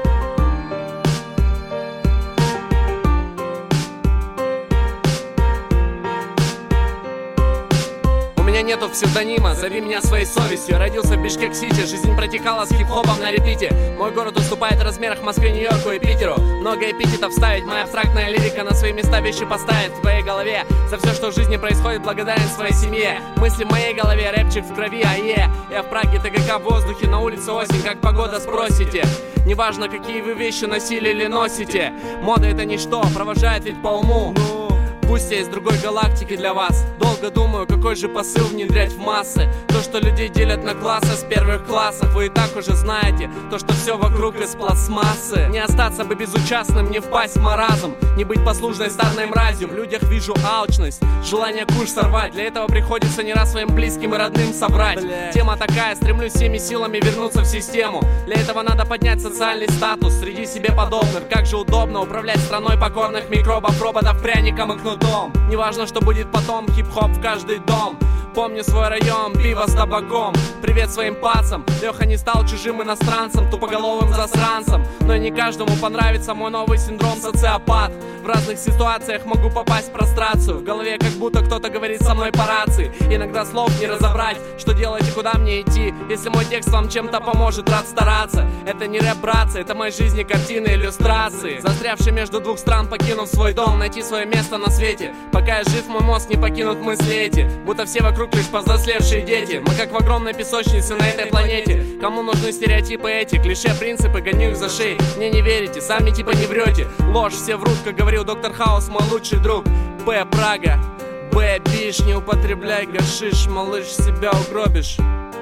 У меня нету псевдонима, зови меня своей совестью. Родился в Бишкек-Сити, жизнь протекала с хип-хопом на репите. Мой город уступает в размерах Москве, Нью-Йорку и Питеру. Много эпитетов ставить, моя абстрактная лирика на свои места вещи поставит в твоей голове. За все, что в жизни происходит, благодарен своей семье. Мысли в моей голове, рэпчик в крови, я в Праге, ТГК в воздухе, на улице осень, как погода спросите. Неважно, какие вы вещи носили или носите, мода это ничто, провожает ведь по уму. Пусть я из другой галактики для вас. Долго думаю, какой же посыл внедрять в массы. То, что людей делят на классы с первых классов, вы и так уже знаете. То, что все вокруг из пластмассы. Не остаться бы безучастным, не впасть в маразм, не быть послушной стадной мразью. В людях вижу алчность, желание куш сорвать. Для этого приходится не раз своим близким и родным собрать. Тема такая, стремлюсь всеми силами вернуться в систему. Для этого надо поднять социальный статус среди себе подобных. Как же удобно управлять страной покорных микробов, роботов, пряником и кнутом. Неважно, что будет потом, хип-хоп в каждый дом. Помню свой район, пиво с табаком. Привет своим пацам, Леха не стал чужим иностранцем, тупоголовым засранцем. Но и не каждому понравится мой новый синдром социопат. В разных ситуациях могу попасть в прострацию. В голове как будто кто-то говорит со мной по рации. Иногда слов не разобрать, что делать и куда мне идти. Если мой текст вам чем-то поможет, рад стараться. Это не рэп, братцы, это моей жизни картины, иллюстрации. Застрявший между двух стран, покинув свой дом, найти свое место на свете. Пока я жив, мой мозг не покинут мысли эти. Будто все вокруг лишь повзрослевшие дети. Мы как в огромной песочнице на этой планете. Кому нужны стереотипы эти, клише, принципы, гоню их за шеи. Мне не верите, сами типа не врете. Ложь, все врут, как говорил доктор Хаус, мой лучший друг. Б, Прага, Б, биш, не употребляй гашиш, малыш, себя угробишь.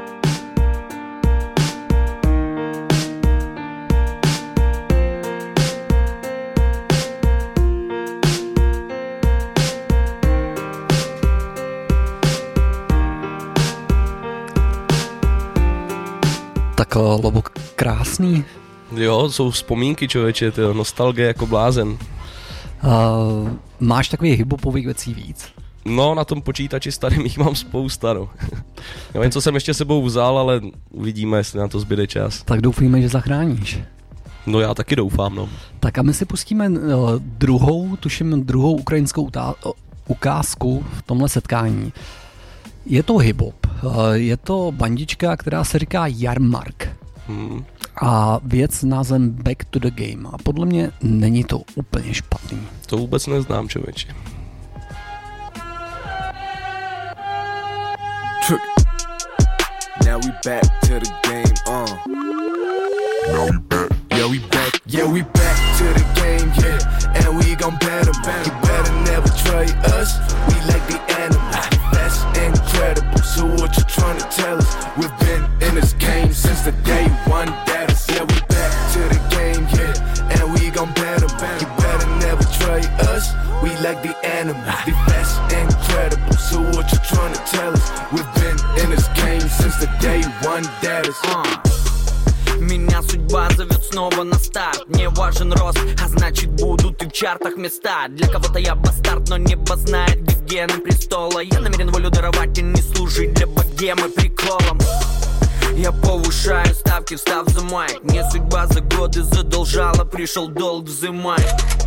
Tak Lobo, krásný. Jo, jsou vzpomínky, člověče, to nostalgie jako blázen. Máš takových hiphopových věcí víc? No, na tom počítači starým jich mám spousta, no. Nevím, co jsem ještě sebou vzal, ale uvidíme, jestli na to zbyde čas. Tak doufejme, že zachráníš. No já taky doufám, no. Tak a my si pustíme druhou ukrajinskou ukázku v tomhle setkání. Je to hip-hop, je to bandička, která se říká Jarmark. A věc s názvem Back to the Game. A podle mě není to úplně špatný. To vůbec neznám, člověče. Now we back to the game, Now we back. Yeah, we back to the game, yeah. And we gon' bet 'em. You better never trade us. We like the animals. That's incredible. So what you tryna tell us? We've been in this game since the day one that is. Yeah, we back to the game, yeah. And we gon' That's incredible. So what you trying to tell us? We've been in this game since the day one that is. Меня судьба зовет снова на старт. Не важен рост, а значит будут и в чартах места. Для кого-то я бастард, но небо знает, где гены престола. Я намерен волю даровать и не служить для богемы приколом. Я повышаю ставки, встав за майк. Мне судьба за годы задолжала, пришел долг взымать.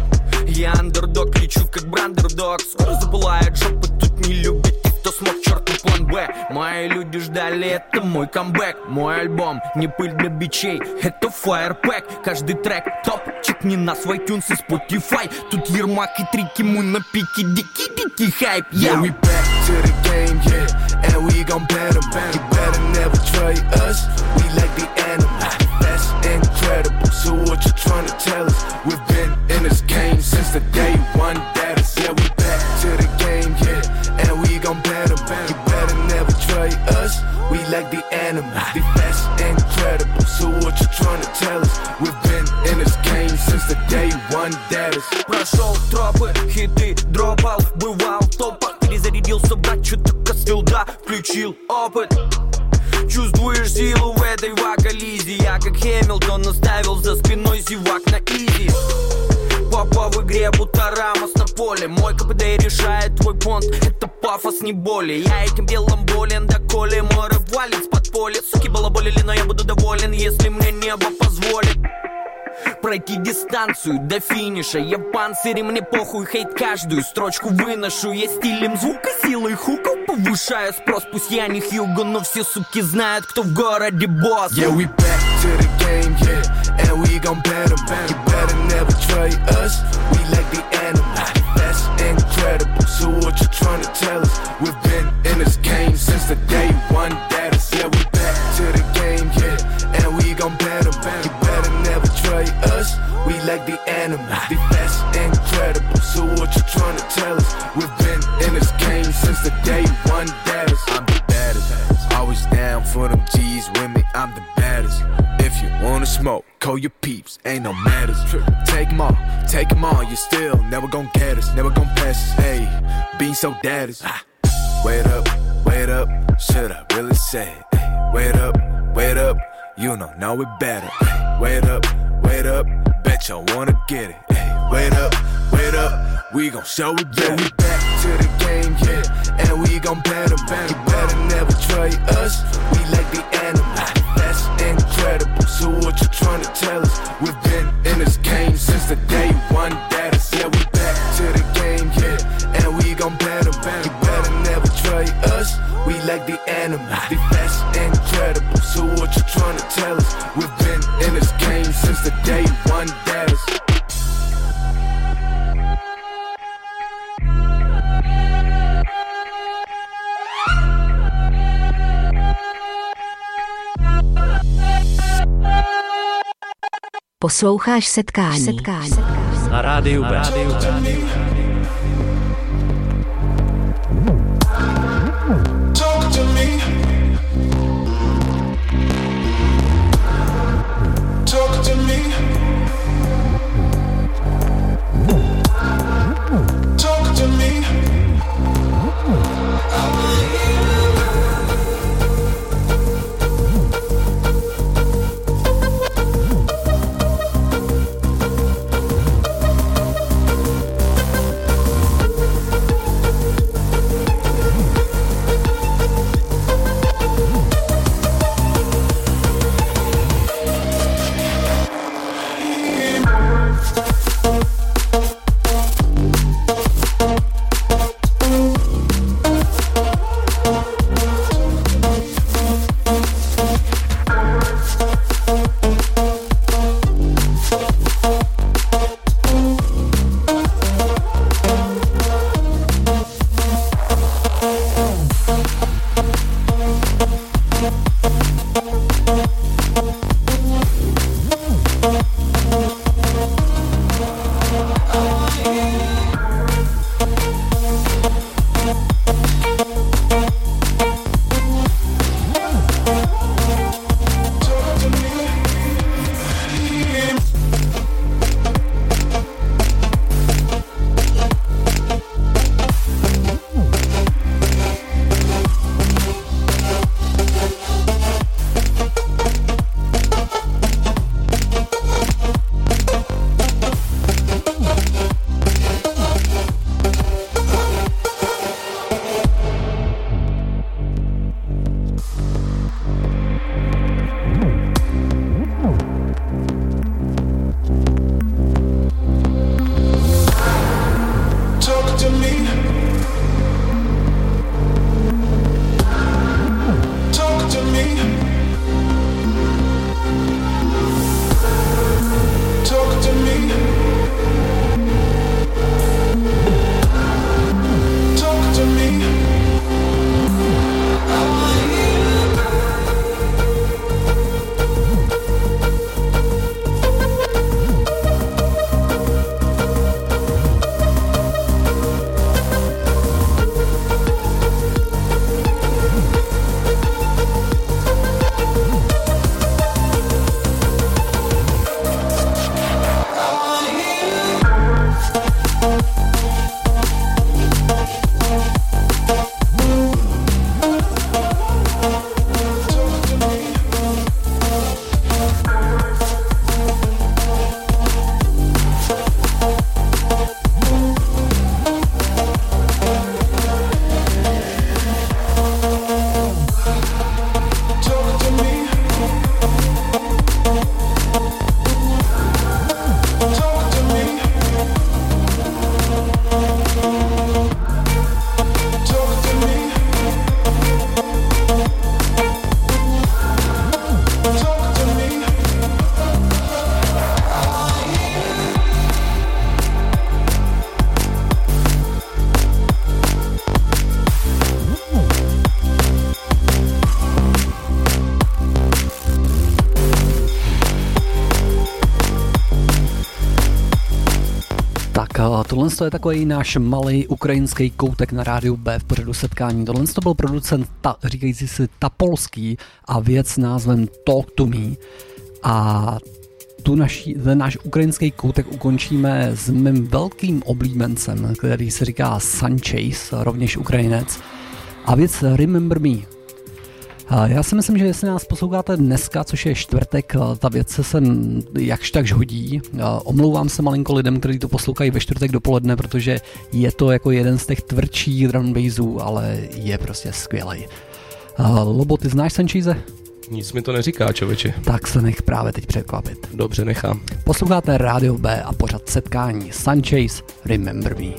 Я андердог, лечу как брандердог. Скоро запылают жопы, тут не любят тех, кто смог, черту план Б. Мои люди ждали, это мой камбэк. Мой альбом, не пыль для бичей, это фаерпэк. Каждый трек топ, чекни нас в iTunes и Spotify. Тут Ермак и Трики, мы на пике, дикий хайп. Yeah, we back to the game, yeah, and we gon' bet 'em. You better never trade us, we like the animals. That's incredible, so what you trying to tell us? We've been in this game since the day one that is. Yeah, we back to the game, yeah, and we gon' bet 'em. You better never trade us, we like the animals. That's incredible, so what you trying to tell us? We've been in this game since the day one that is. Прошел тропы, хиты дропал, бывал в топах. Перезарядился, брат, чё только с филда включил опыт. Чувствуешь силу в этой вокализе. Я как Хэмилтон оставил за спиной зевак на изи. Папа в игре, будто Рамос на поле. Мой КПД решает твой понт, это пафос, не боли. Я этим делом болен, доколе мой рэп валит с подполья. Суки балаболили, но я буду доволен, если мне небо позволит пройти дистанцию до финиша. Я в панцире, мне похуй, хейт каждую строчку выношу. Я стилем звука, силой хуков повышаю спрос. Пусть я не Хьюго, но все суки знают, кто в городе босс. Yeah, we back to the game, yeah, and we gon' bet 'em. You better never trade us, we like the animals. That's incredible, so what you trying to tell us? We've been in this game since the day one that is. Yeah, we back to the game, yeah, and we gon' bet 'em. You better never trade us, we like the animals. That's incredible, so what you trying to tell us? We've been in this game since the day one that is. I'm the baddest, always down for them G's with me, I'm the baddest. If you wanna smoke, call your peeps, ain't no matters. Take 'em all, you still never gon' get us, never gon' pass us. Hey, being so daddies. Wait up, should I really say it? Hey, wait up, you don't know it better. Hey, wait up, bet y'all wanna get it. Hey, wait up, we gon' show it better. Yeah, we back to the game, yeah, and we gon' bet 'em. You better never trade us, we like the animals. That's incredible, so what you trying to tell us? We've been in this game since the day one that is. Yeah, we back to the game, yeah, and we gon' bet 'em. You better never trade us, we like the animals. That's incredible, so what you trying to tell us? We've been in this game since the day one that is. Posloucháš setkání. Na rádiu B. Talk to me. Talk to me. Talk to me. tohle je takový náš malý ukrajinský koutek na rádiu B v pořadu setkání. Tohle to byl producent říkající si Tapolský a věc s názvem Talk to Me. A ten náš ukrajinský koutek ukončíme s mým velkým oblíbencem, který se říká Sunchase, rovněž Ukrajinec. A věc Remember Me. Já si myslím, že jestli nás posloucháte dneska, což je čtvrtek, ta věc se jakž takž hodí. Omlouvám se malinko lidem, kteří to poslouchají ve čtvrtek dopoledne, protože je to jako jeden z těch tvrdších drum bassů, ale je prostě skvělej. Lobo, ty znáš Sunchase? Nic mi to neříká, člověče. Tak se nech právě teď překvapit. Dobře, nechám. Posloucháte Rádio B a pořad setkání Sunchase Remember Me.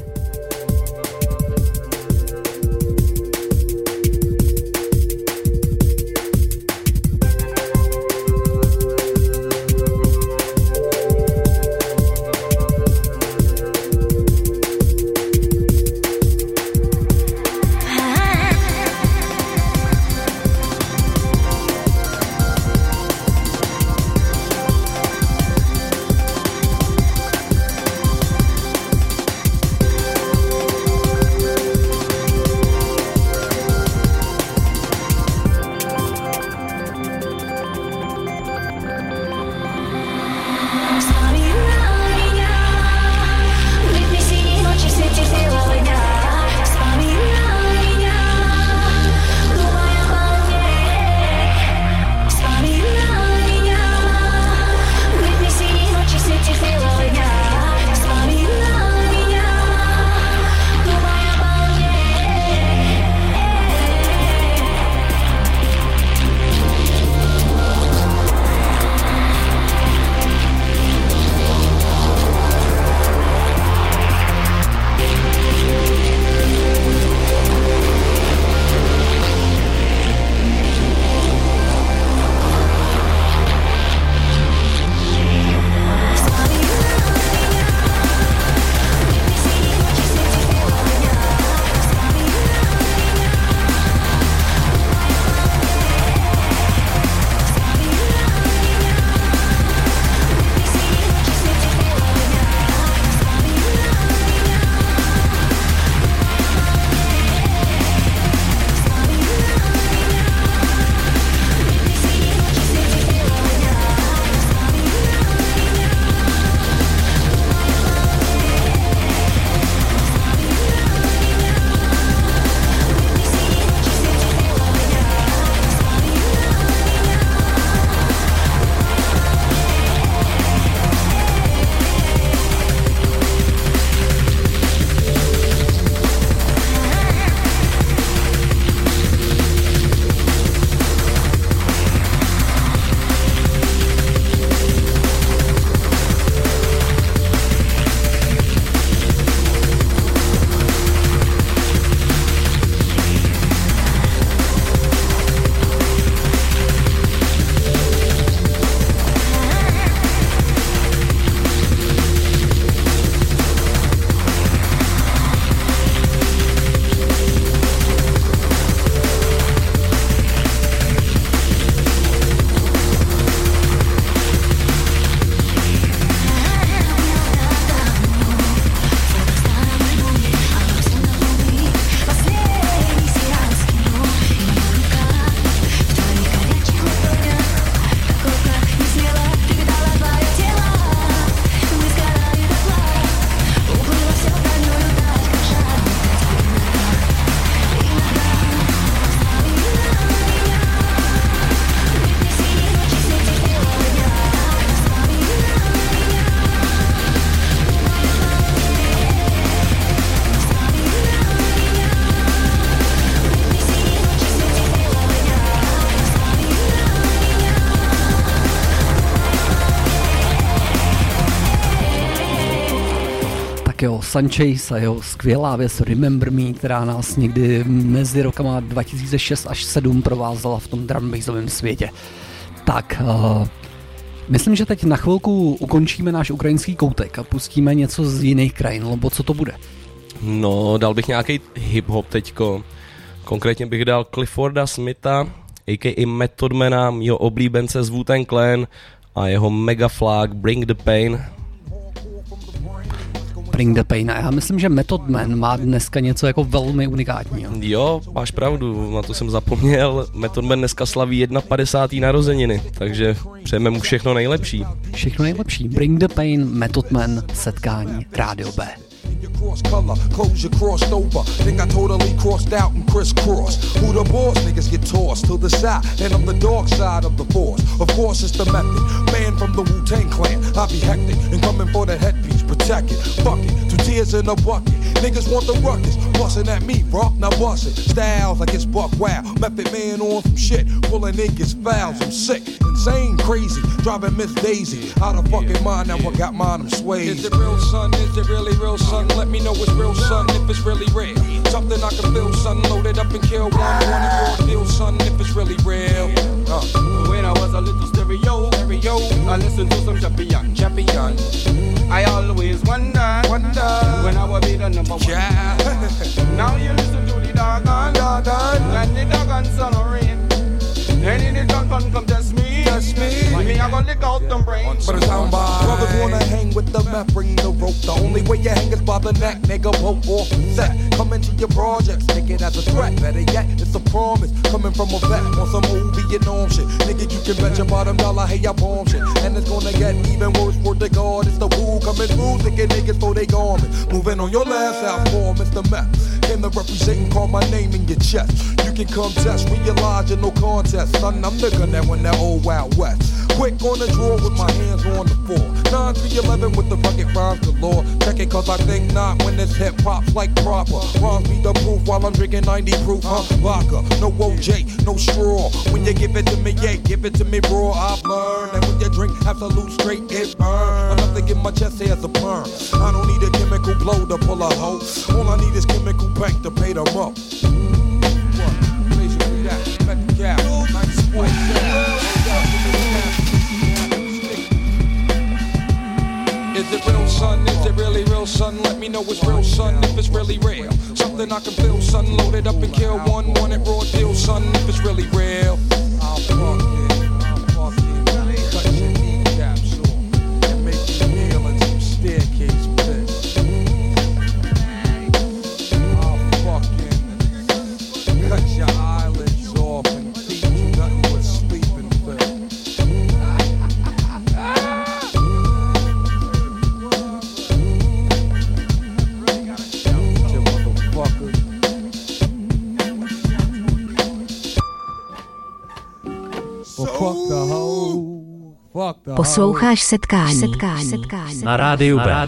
Sunchase a jeho skvělá věc Remember Me, která nás někdy mezi rokama 2006 až 2007 provázela v tom drum bassovém světě. Tak, myslím, že teď na chvilku ukončíme náš ukrajinský koutek a pustíme něco z jiných krajin, nebo co to bude? No, dal bych nějaký hip-hop teďko. Konkrétně bych dal Clifforda Smitha, a.k.a. Method Mana, mýho oblíbence z Wu-Tang Clan a jeho Mega Flag Bring the Pain. Bring the Pain. A já myslím, že Method Man má dneska něco jako velmi unikátního. Jo, máš pravdu, na to jsem zapomněl. Method Man dneska slaví 51. narozeniny, takže přejeme mu všechno nejlepší. Všechno nejlepší. Bring the Pain, Method Man, setkání Rádio B. Cross color, clothes you crossed over. Think I totally crossed out and crisscrossed. Who the boss? Niggas get tossed to the side, and I'm the dark side of the force. Of course it's the method. Man from the Wu-Tang Clan. I be hectic and coming for the headpiece. Protect it, fuck it, 2 tears in a bucket. Niggas want the ruckus, bustin' at me, bro. Now bust it. Styles like it's buck wow. Method man on some shit, pulling niggas fouls. I'm sick, insane, crazy, driving Miss Daisy out of fucking mind. Now I got mine, I'm swayed. Is it real, son? Is it really real, son? Let me know it's real, son, if it's really real. Something I can feel, son, loaded up and kill one it raw deal, son, if it's really real. When I was a little stereo, I listened to some champion. I always wonder when I would be the number one. Yeah. Now you listen to the doggone, and the doggone sun or rain. Any the gun come test me. Me, I gonna lick out them brains. But it's how brothers wanna hang with the map, bring the rope. The only way you hang is by the neck, nigga, rope off set. Come into your projects, take it as a threat. Better yet, it's a promise, coming from a vet on some old Vietnam shit. Nigga, you can bet your bottom dollar, hey, I bomb shit. And it's gonna get even worse, word to God. It's the woo coming through, thinking niggas for they garment. Moving on your last out for Mr. Meth. Came to represent and call my name in your chest. You can come test, realize you're no contest. Son, I'm the gun that won that old Wild West. Quick on the draw with my hands on the floor. 9-3-11 with the rugged rhymes galore. Check it cause I think not when this hip hop's like proper. Rhymes be the proof while I'm drinking 90 proof, vodka, no OJ, no straw. When you give it to me, yeah, give it to me raw. I've learned that when you drink absolute straight, it burn. Enough to get my chest hair as a perm. I don't need a chemical blow to pull a hoe. All I need is chemical bank to pay them up. Basically that, met the cap, nice white. Is it real, son? Is it really real, son? Let me know it's real, son, if it's really real. Something I can feel, son, loaded up and kill one it raw deal, son, if it's really real. I'll fuck it, cut your kneecaps off, and make you kneel in some staircase pits. I'll fucking cut your eyelids off and feed you nothing but sleeping pills. Posloucháš setkání. Na rádiu B.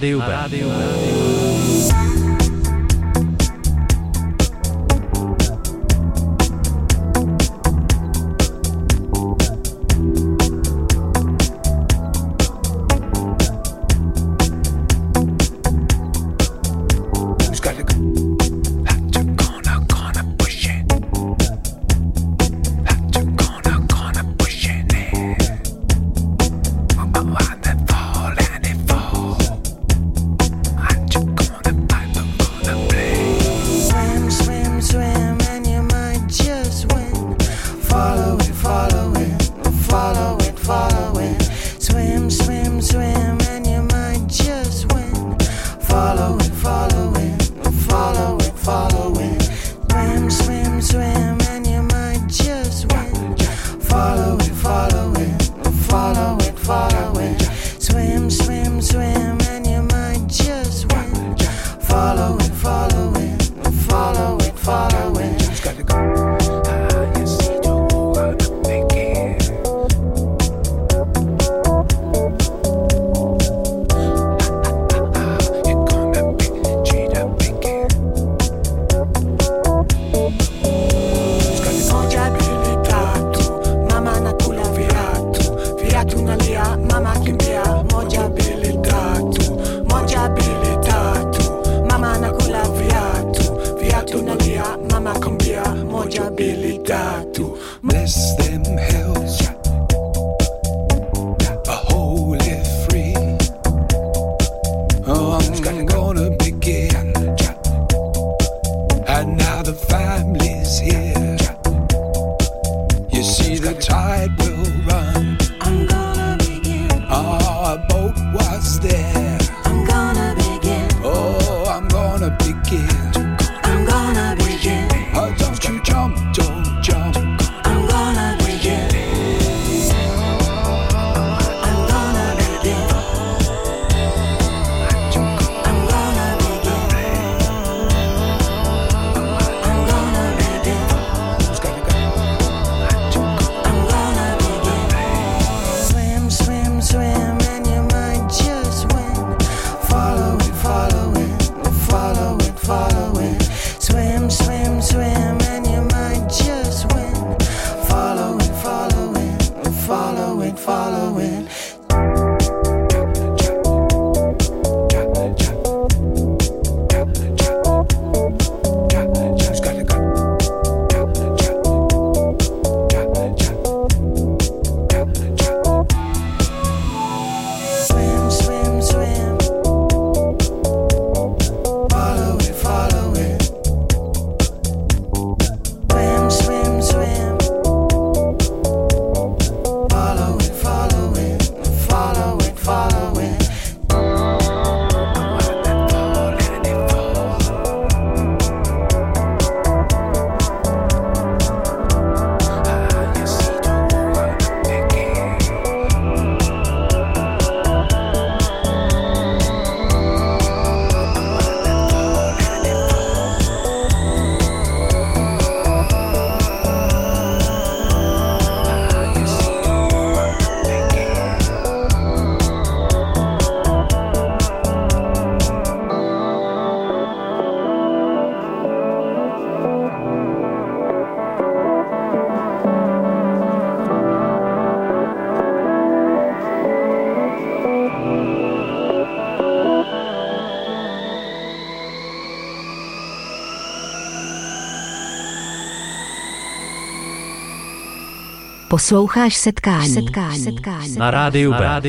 Posloucháš setkání. Na rádiu B.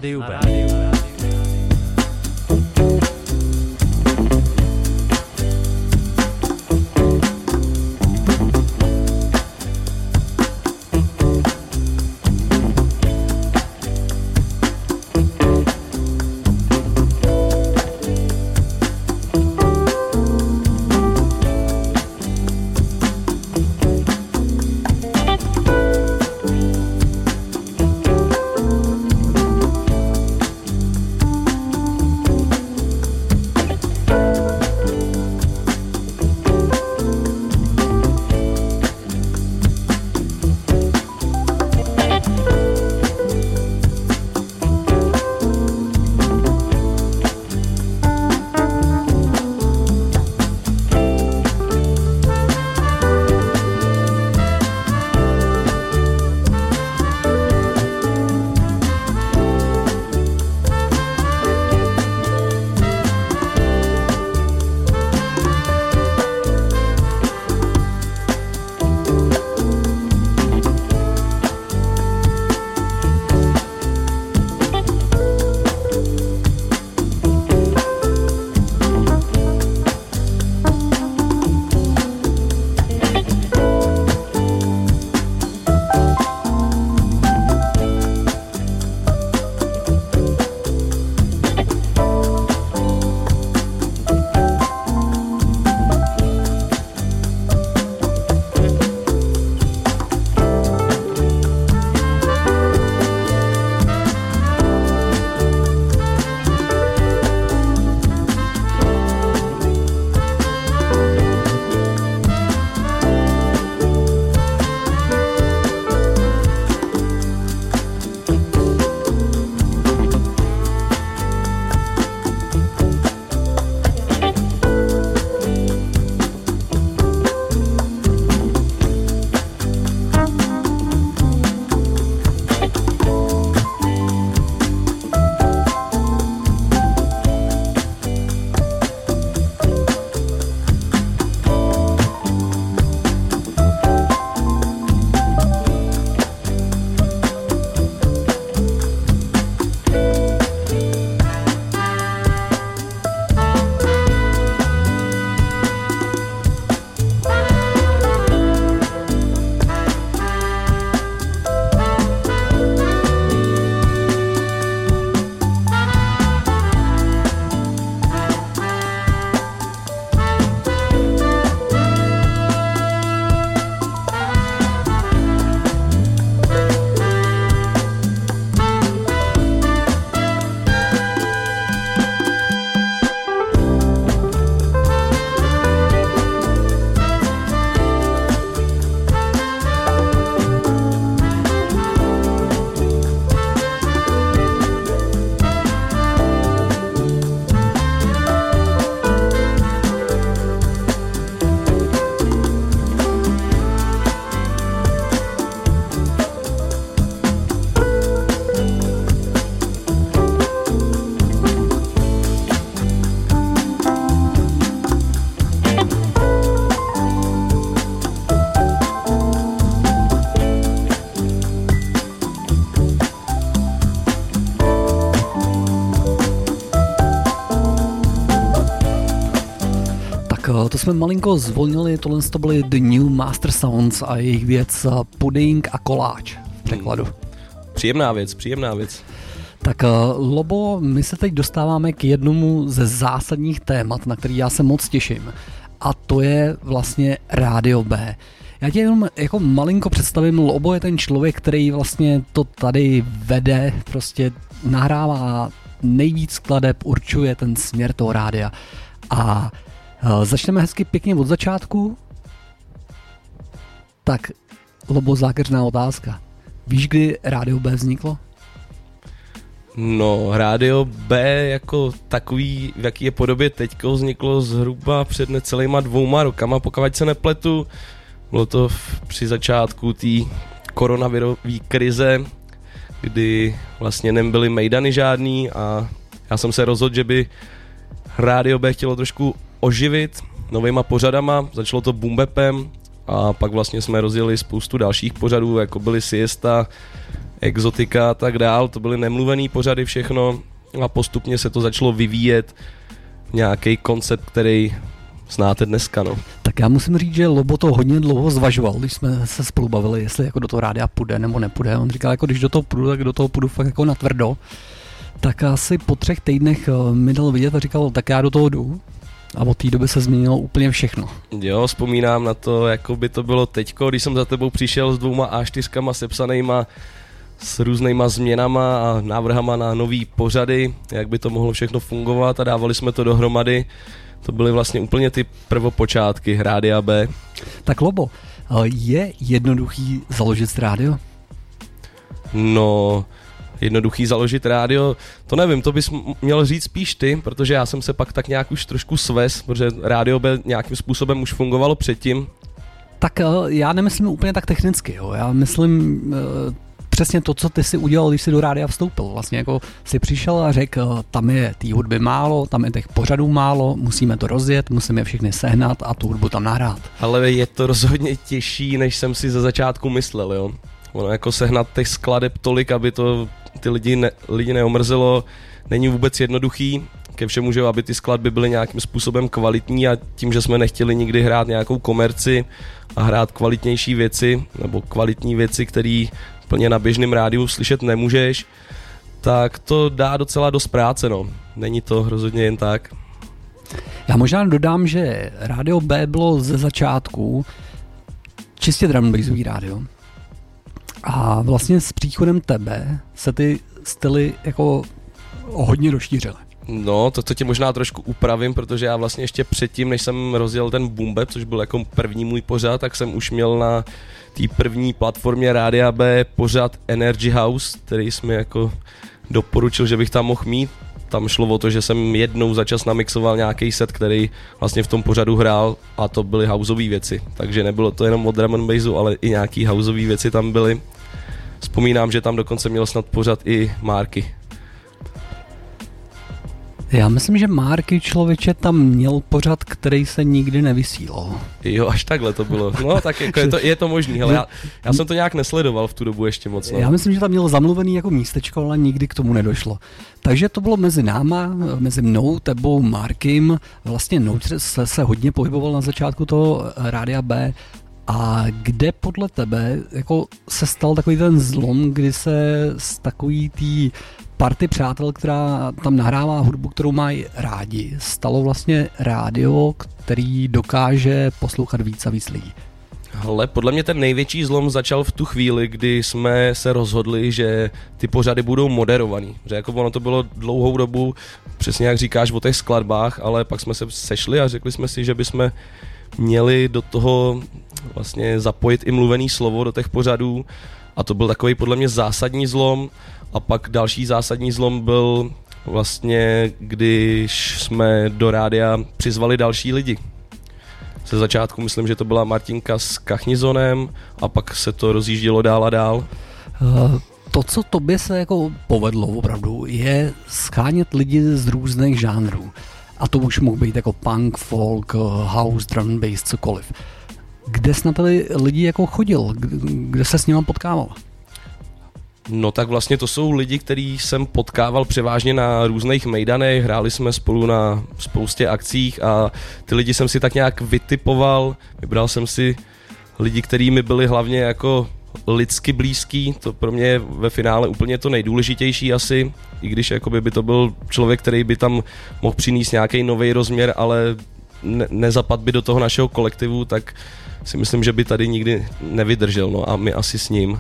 To jsme malinko zvolnili, tohle to byly The New Master Sounds a jejich věc Pudding a koláč v překladu. Příjemná věc. Tak Lobo, my se teď dostáváme k jednomu ze zásadních témat, na který já se moc těším. A to je vlastně Rádio B. Já tě jenom jako malinko představím, Lobo je ten člověk, který vlastně to tady vede, prostě nahrává nejvíc skladeb, určuje ten směr toho rádia. A začneme hezky pěkně od začátku. Tak, Lobo, zákeřná otázka. Víš, kdy Rádio B vzniklo? No, Rádio B jako takový, v jaký je podobě teďko, vzniklo zhruba před necelýma 2 rokama, pokud se nepletu. Bylo to při začátku té koronavirové krize, kdy vlastně nebyly mejdany žádný a já jsem se rozhodl, že by Rádio B chtělo trošku oživit novejma pořadama. Začalo to boom bapem, a pak vlastně jsme rozjeli spoustu dalších pořadů, jako byly Siesta, Exotika a tak dál, to byly nemluvený pořady všechno a postupně se to začalo vyvíjet nějaký koncept, který znáte dneska, no. Tak já musím říct, že Lobo to hodně dlouho zvažoval, když jsme se spolu bavili, jestli jako do toho rádia půjde nebo nepůjde. On říkal, jako když do toho půjdu, tak do toho půjdu fakt jako natvrdo. Tak asi po 3 týdnech mi dal vidět a říkal, tak já do toho jdu. A od té doby se změnilo úplně všechno. Jo, vzpomínám na to, jako by to bylo teďko, když jsem za tebou přišel s 2 A4 sepsanýma s různýma změnama a návrhama na nový pořady, jak by to mohlo všechno fungovat a dávali jsme to dohromady. To byly vlastně úplně ty prvopočátky Rádia B. Tak Lobo, je jednoduchý založit rádio? No, jednoduchý založit rádio, to nevím, to bys měl říct spíš ty, protože já jsem se pak tak nějak už trošku svez, protože Rádio B nějakým způsobem už fungovalo předtím. Tak já nemyslím úplně tak technicky, jo. Já myslím přesně to, co ty si udělal, když jsi do rádia vstoupil. Vlastně jako si přišel a řekl, tam je té hudby málo, tam je těch pořadů málo, musíme to rozjet, musíme všechny sehnat a tu hudbu tam nahrát. Ale je to rozhodně těžší, než jsem si ze začátku myslel, jo. Ono jako sehnat těch skladeb tolik, aby to ty lidi neomrzelo, není vůbec jednoduchý. Ke všemu, že aby ty skladby byly nějakým způsobem kvalitní a tím, že jsme nechtěli nikdy hrát nějakou komerci a hrát kvalitnější věci, nebo kvalitní věci, které plně na běžném rádiu slyšet nemůžeš, tak to dá docela dost práce, no. Není to rozhodně jen tak. Já možná dodám, že Rádio B bylo ze začátku čistě drum and bassový rádio. A vlastně s příchodem tebe se ty styly jako hodně rozšířily. No, to tě možná trošku upravím, protože já vlastně ještě předtím, než jsem rozjel ten Boom Bap, což byl jako první můj pořad, tak jsem už měl na té první platformě Rádia B pořad Energy House, který jsi mi jako doporučil, že bych tam mohl mít. Tam šlo o to, že jsem jednou za čas namixoval nějaký set, který vlastně v tom pořadu hrál a to byly houseové věci. Takže nebylo to jenom o drum and bassu, ale i nějaký houseové věci tam byly. Vzpomínám, že tam dokonce měl snad pořad i Marky. Já myslím, že Marky člověče tam měl pořad, který se nikdy nevysílal. Jo, až takhle to bylo. No tak jako je to možný, ale já jsem to nějak nesledoval v tu dobu ještě moc. No. Já myslím, že tam měl zamluvený jako místečko, ale nikdy k tomu nedošlo. Takže to bylo mezi náma, mezi mnou, tebou, Markym. Vlastně Nouch se hodně pohyboval na začátku toho Rádia B. A kde podle tebe jako se stal takový ten zlom, kdy se z takový tý party přátel, která tam nahrává hudbu, kterou mají rádi, stalo vlastně rádio, který dokáže poslouchat víc a víc lidí? Ale podle mě ten největší zlom začal v tu chvíli, kdy jsme se rozhodli, že ty pořady budou moderovaný. Že jako ono to bylo dlouhou dobu, přesně jak říkáš o těch skladbách, ale pak jsme se sešli a řekli jsme si, že bychom měli do toho vlastně zapojit i mluvený slovo do těch pořadů a to byl takový podle mě zásadní zlom. A pak další zásadní zlom byl vlastně, když jsme do rádia přizvali další lidi. Ze začátku myslím, že to byla Martinka s Kachnizonem a pak se to rozjíždělo dál a dál. To, co tobě se jako povedlo opravdu, je schánět lidi z různých žánrů. A to už mohl být jako punk, folk, house, drum and bass, cokoliv. Kde jsi na ty lidi jako chodil? Kde se s nimi potkával? No tak vlastně to jsou lidi, který jsem potkával převážně na různých mejdanech, hráli jsme spolu na spoustě akcích a ty lidi jsem si tak nějak vytipoval, vybral jsem si lidi, kteří mi byli hlavně jako lidsky blízký, to pro mě je ve finále úplně to nejdůležitější asi, i když jakoby by to byl člověk, který by tam mohl přinést nějaký nový rozměr, ale nezapad by do toho našeho kolektivu, tak si myslím, že by tady nikdy nevydržel, no a my asi s ním.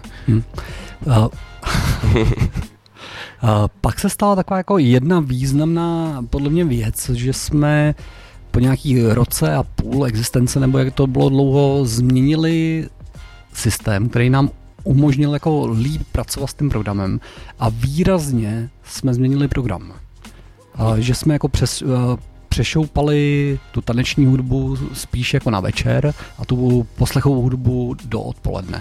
Pak se stala taková jako jedna významná podle mě věc, že jsme po nějaký roce a půl existence, nebo jak to bylo dlouho, změnili systém, který nám umožnil jako líp pracovat s tím programem a výrazně jsme změnili program. Že jsme jako přešoupali tu taneční hudbu spíš jako na večer a tu poslechovou hudbu do odpoledne.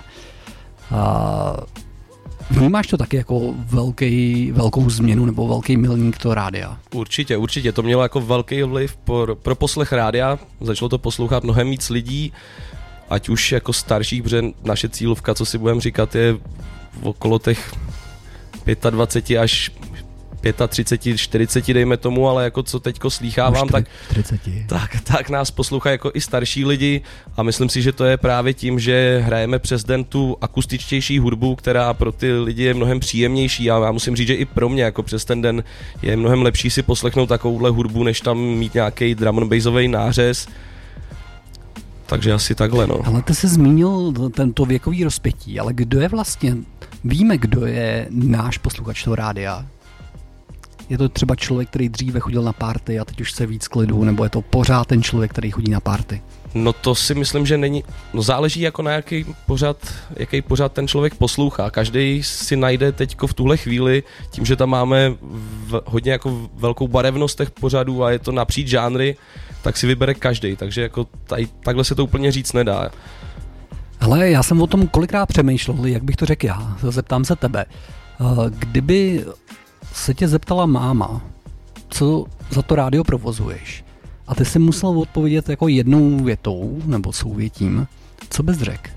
Vnímáš to taky jako velkou změnu nebo velký milník toho rádia? Určitě. To mělo jako velký vliv pro poslech rádia. Začalo to poslouchat mnohem víc lidí ať už jako starších, protože naše cílovka, co si budeme říkat, je okolo těch 25 až 35, 40 dejme tomu, ale jako co teďko slýchávám, tak nás poslouchají jako i starší lidi a myslím si, že to je právě tím, že hrajeme přes den tu akustičtější hudbu, která pro ty lidi je mnohem příjemnější a já musím říct, že i pro mě jako přes ten den je mnohem lepší si poslechnout takovouhle hudbu, než tam mít nějaký drum and bassový nářez. Takže asi takhle, no. Ale ty jsi zmínil tento věkový rozpětí, ale kdo je vlastně, víme, kdo je náš posluchač toho rádia? Je to třeba člověk, který dříve chodil na party a teď už chce víc klidu, nebo je to pořád ten člověk, který chodí na party? No to si myslím, že není, no záleží jako na jaký pořád ten člověk poslouchá. Každý si najde teďko v tuhle chvíli, tím, že tam máme hodně jako velkou barevnost těch pořadů a je to napříč žánry, tak si vybere každý, takže jako takhle se to úplně říct nedá. Ale já jsem o tom kolikrát přemýšlel, jak bych to řekl já, zeptám se tebe. Kdyby se tě zeptala máma, co za to rádio provozuješ, a ty si musel odpovědět jako jednou větou, nebo souvětím, co bys řekl?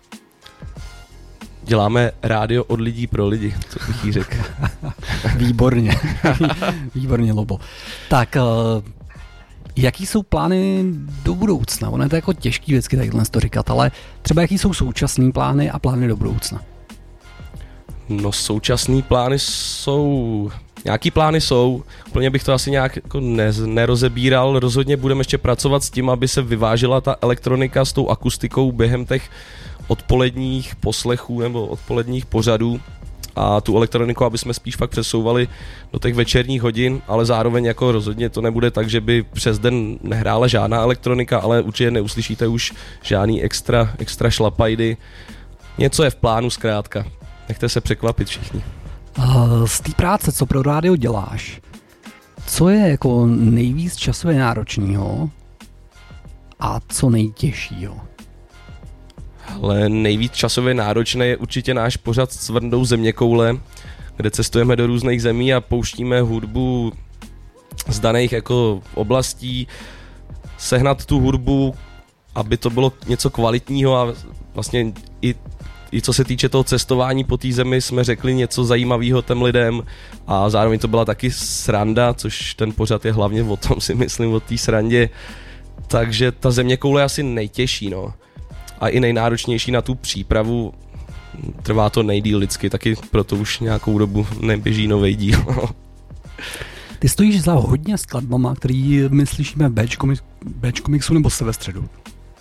Děláme rádio od lidí pro lidi, co bych jí řekl. Výborně, výborně, Lobo. Tak, jaký jsou plány do budoucna? Ono je to jako těžký vždycky takhle to říkat, ale třeba jaký jsou současný plány a plány do budoucna? No současný plány jsou, nějaký plány jsou, úplně bych to asi nějak jako nerozebíral, rozhodně budeme ještě pracovat s tím, aby se vyvážila ta elektronika s tou akustikou během těch odpoledních poslechů nebo odpoledních pořadů a tu elektroniku, aby jsme spíš fakt přesouvali do těch večerních hodin, ale zároveň jako rozhodně to nebude tak, že by přes den nehrála žádná elektronika, ale určitě neuslyšíte už žádný extra šlapajdy. Něco je v plánu zkrátka. Nechte se překvapit všichni. Z té práce, co pro rádio děláš, co je jako nejvíc časově náročného a co nejtěžšího? Ale nejvíc časově náročné je určitě náš pořad s Vrndou zeměkoule, kde cestujeme do různých zemí a pouštíme hudbu z daných jako oblastí, sehnat tu hudbu, aby to bylo něco kvalitního a vlastně i co se týče toho cestování po té zemi jsme řekli něco zajímavého těm lidem a zároveň to byla taky sranda, což ten pořad je hlavně o tom, si myslím, o té srandě. Takže ta zeměkoule je asi nejtěžší, no. A i nejnáročnější na tu přípravu, trvá to nejdýl lidsky, taky proto už nějakou dobu neběží novej díl. Ty stojíš za hodně skladbama, který my slyšíme v Bčku mixu nebo se ve středu.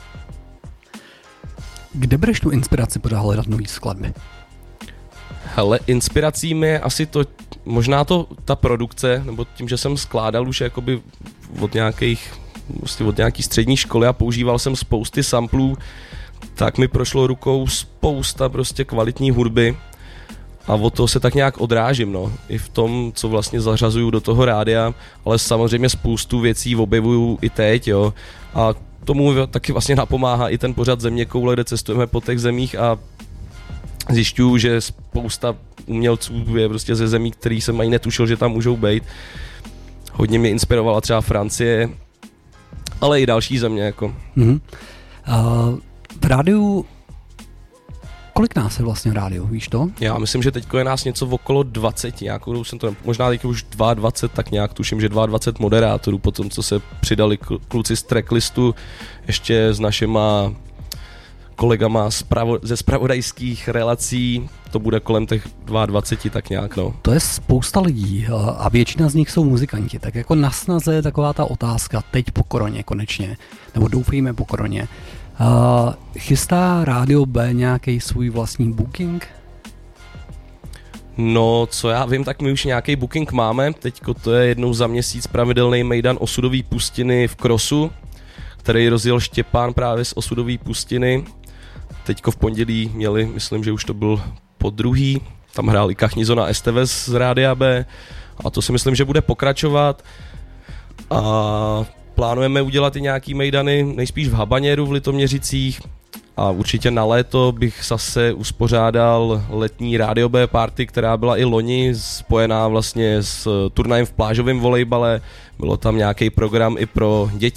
Kde bereš tu inspiraci podat hledat nový skladby? Hele, inspirací mi je asi to, možná to ta produkce, nebo tím, že jsem skládal už jakoby od nějaký střední školy a používal jsem spousty samplů, tak mi prošlo rukou spousta prostě kvalitní hudby a od toho se tak nějak odrážím, no. I v tom, co vlastně zařazuju do toho rádia, ale samozřejmě spoustu věcí objevuju i teď, jo. A tomu taky vlastně napomáhá i ten pořad Zeměkoule, kde cestujeme po těch zemích a zjišťuju, že spousta umělců je prostě ze zemí, který jsem ani netušil, že tam můžou být. Hodně mě inspirovala třeba Francie, ale i další země, jako. V rádiu, kolik nás je vlastně v rádiu, víš to? Já myslím, že teďko je nás něco okolo 20, nějakou jsem to, možná teď už 22, tak nějak tuším, že 22 moderátorů, potom co se přidali kluci z tracklistu, ještě s našima kolegama ze zpravodajských relací, to bude kolem těch 22, tak nějak, no. To je spousta lidí a většina z nich jsou muzikanti, tak jako na snaze je taková ta otázka, teď po koroně konečně, nebo doufejme po koroně. Chystá Rádio B nějaký svůj vlastní booking? No, co já vím, tak my už nějaký booking máme. Teďko to je jednou za měsíc pravidelný mejdan Osudové pustiny v Krosu, který rozjel Štěpán právě z Osudové pustiny. Teďko v pondělí měli, myslím, že už to byl podruhý, tam hrál i Kachnizo na STV z Rádia B a to si myslím, že bude pokračovat. A plánujeme udělat i nějaký mejdany, nejspíš v Habaněru v Litoměřicích a určitě na léto bych zase uspořádal letní Rádio B party, která byla i loni spojená vlastně s turnajem v plážovém volejbale. Bylo tam nějaký program i pro děti,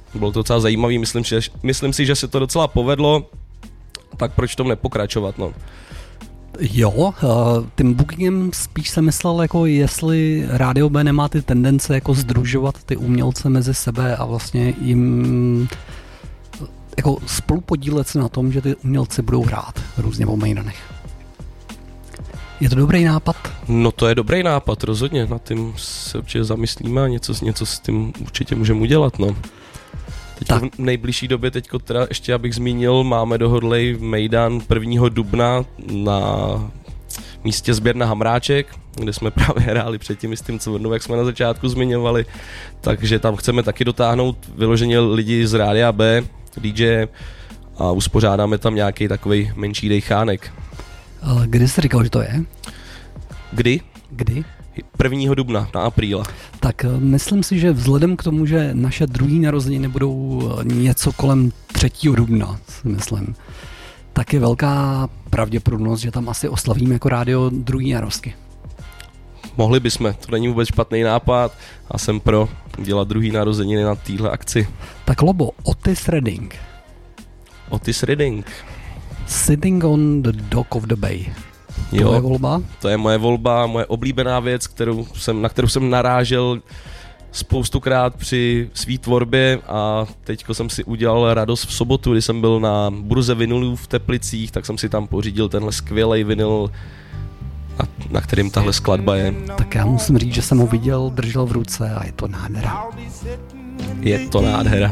Bylo to docela zajímavý, myslím si, že se to docela povedlo, tak proč tom nepokračovat, no. Jo, tím bookingem spíš jsem myslel, jako jestli Rádio B nemá ty tendence jako sdružovat ty umělce mezi sebe a vlastně jim jako spolupodílet se na tom, že ty umělci budou hrát různě o Mejdanech. Je to dobrý nápad? No to je dobrý nápad, rozhodně, nad tím se určitě zamyslíme a něco s tím určitě můžeme udělat, no. Teď v nejbližší době, teďko teda ještě abych zmínil, máme dohodlej Mejdan 1. dubna na místě Sběrna Hamráček, kde jsme právě hráli předtím s tím Cvrnou, jak jsme na začátku zmiňovali, takže tam chceme taky dotáhnout vyloženě lidi z Rádia B, DJ a uspořádáme tam nějaký takovej menší dejchánek. Kdy jsi říkal, že to je? Kdy? 1. dubna, na apríla. Tak myslím si, že vzhledem k tomu, že naše druhý narozeniny budou něco kolem 3. dubna, si myslím, tak je velká pravděpodobnost, že tam asi oslavíme jako rádio druhý narozky. Mohli bychom, to není vůbec špatný nápad a jsem pro dělat druhý narozeniny na téhle akci. Tak Lobo, Otis Redding. Otis Redding. Sitting on the Dock of the Bay. Jo, je volba? To je moje volba, moje oblíbená věc, na kterou jsem narážel spoustukrát při svý tvorbě a teďko jsem si udělal radost v sobotu, kdy jsem byl na burze vinylů v Teplicích, tak jsem si tam pořídil tenhle skvělej vinyl, na kterým tahle skladba je. Tak já musím říct, že jsem ho viděl, držel v ruce a je to nádhera. Je to nádhera.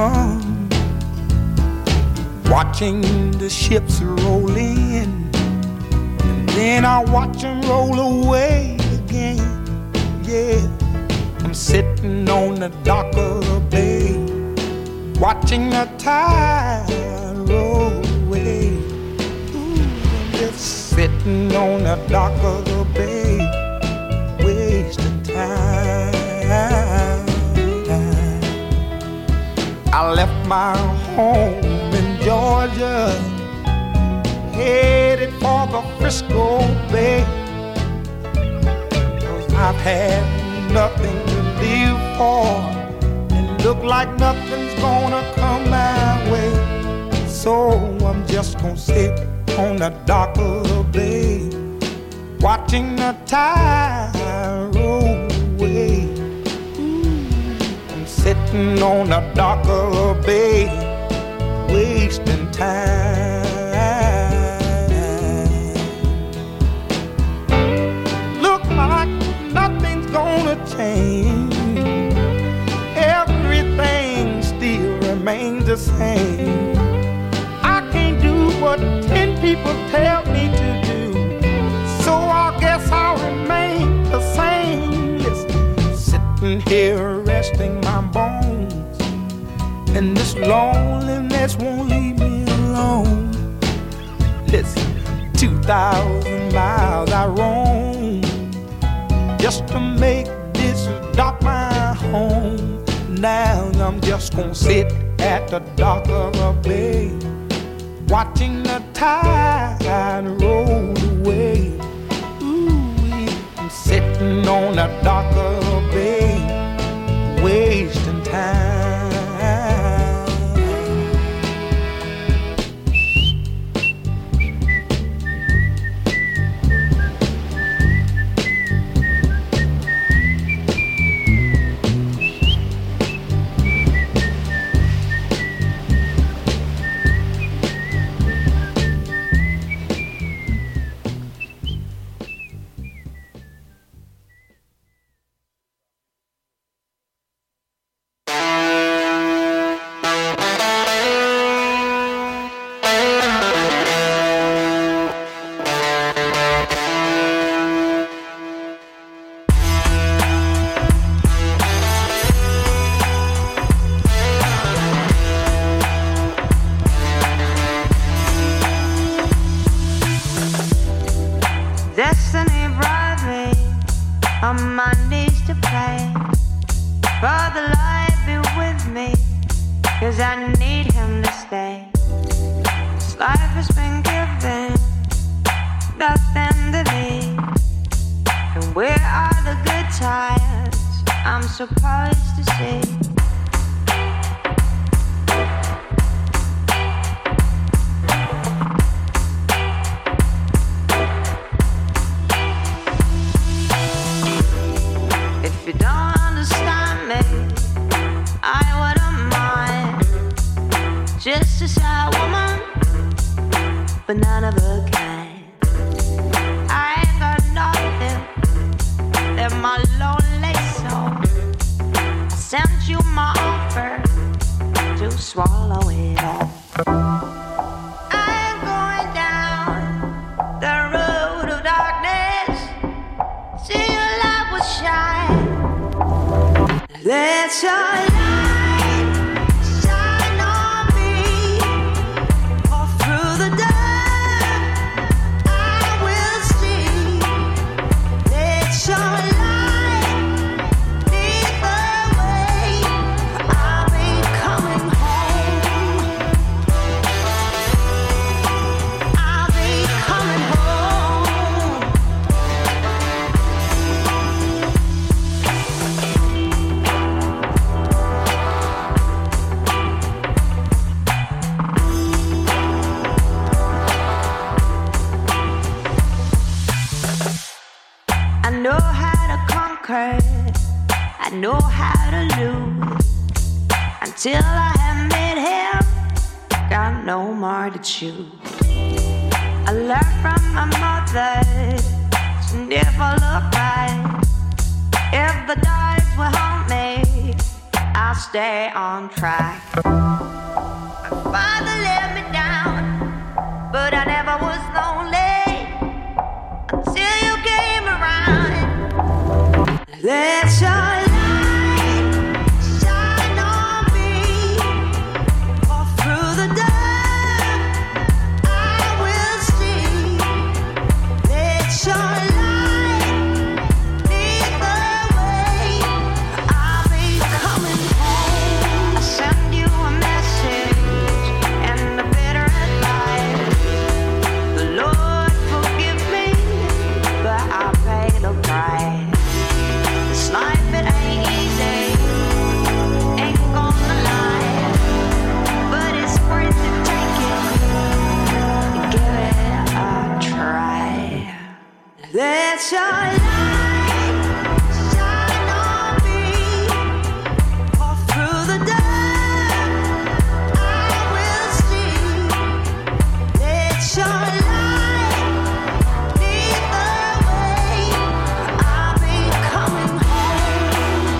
Watching the ships roll in, and then I watch them roll away again. Yeah, I'm sitting on the dock of the bay, watching the tide roll away. Ooh, I'm just sitting on the dock of the bay, wasting time. I left my home in Georgia, headed for the Frisco Bay, 'cause I've had nothing to live for, and look like nothing's gonna come my way. So I'm just gonna sit on the dock of the bay, watching the tide roll away. I'm sitting on the dock of the bay, wasting time. Look like nothing's gonna change, everything still remains the same. I can't do what 10 people tell me to do, so I guess I'll remain the same. Listen, sitting here resting my bones, and this loneliness won't leave me alone. Listen, 2,000 miles I roam just to make this dock my home. Now I'm just gonna sit at the dock of a bay, watching the tide roll away. Ooh, I'm sitting on the dock of a bay, wasting time. Destiny brought me on my knees to pray. Father, Lord, be with me, 'cause I need him to stay. This life has been given nothing to leave, and where are the good times I'm supposed to see? but none of a kind. I ain't got nothing in my lonely soul. I sent you my offer to swallow it all. I ain't going down the road of darkness. See your light will shine. Let your light shine on me. All through the dark I will see. Let your light lead the way. I'll be coming home. I'll be coming home. I know how to conquer, I know how to lose. Until I have met him, got no more to choose. I learned from my mother to never look right. If the dogs will haunt me, I'll stay on track. My father let me down, but I never was lonely until you came around. Let your light shine on me. All through the dark I will see. Let your light lead the way. I'll be coming home. I send you a message and a bitter advice. The Lord forgive me, but I'll pay the price. This life, it ain't easy, ain't gonna lie, but it's worth it, take it, and give it a try. Let your light shine on me. All through the dark I will see. Let your light lead the way. I'll be coming home.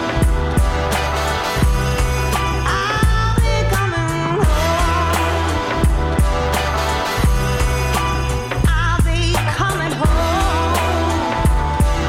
I'll be coming home. I'll be coming home.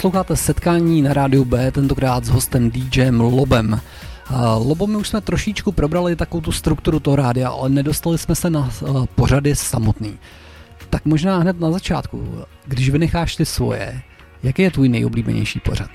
Posloucháte setkání na rádiu B, tentokrát s hostem DJem Lobem. Lobo, my už jsme trošičku probrali takovou tu strukturu toho rádia, ale nedostali jsme se na pořady samotný. Tak možná hned na začátku, když vynecháš ty svoje, jaký je tvůj nejoblíbenější pořad?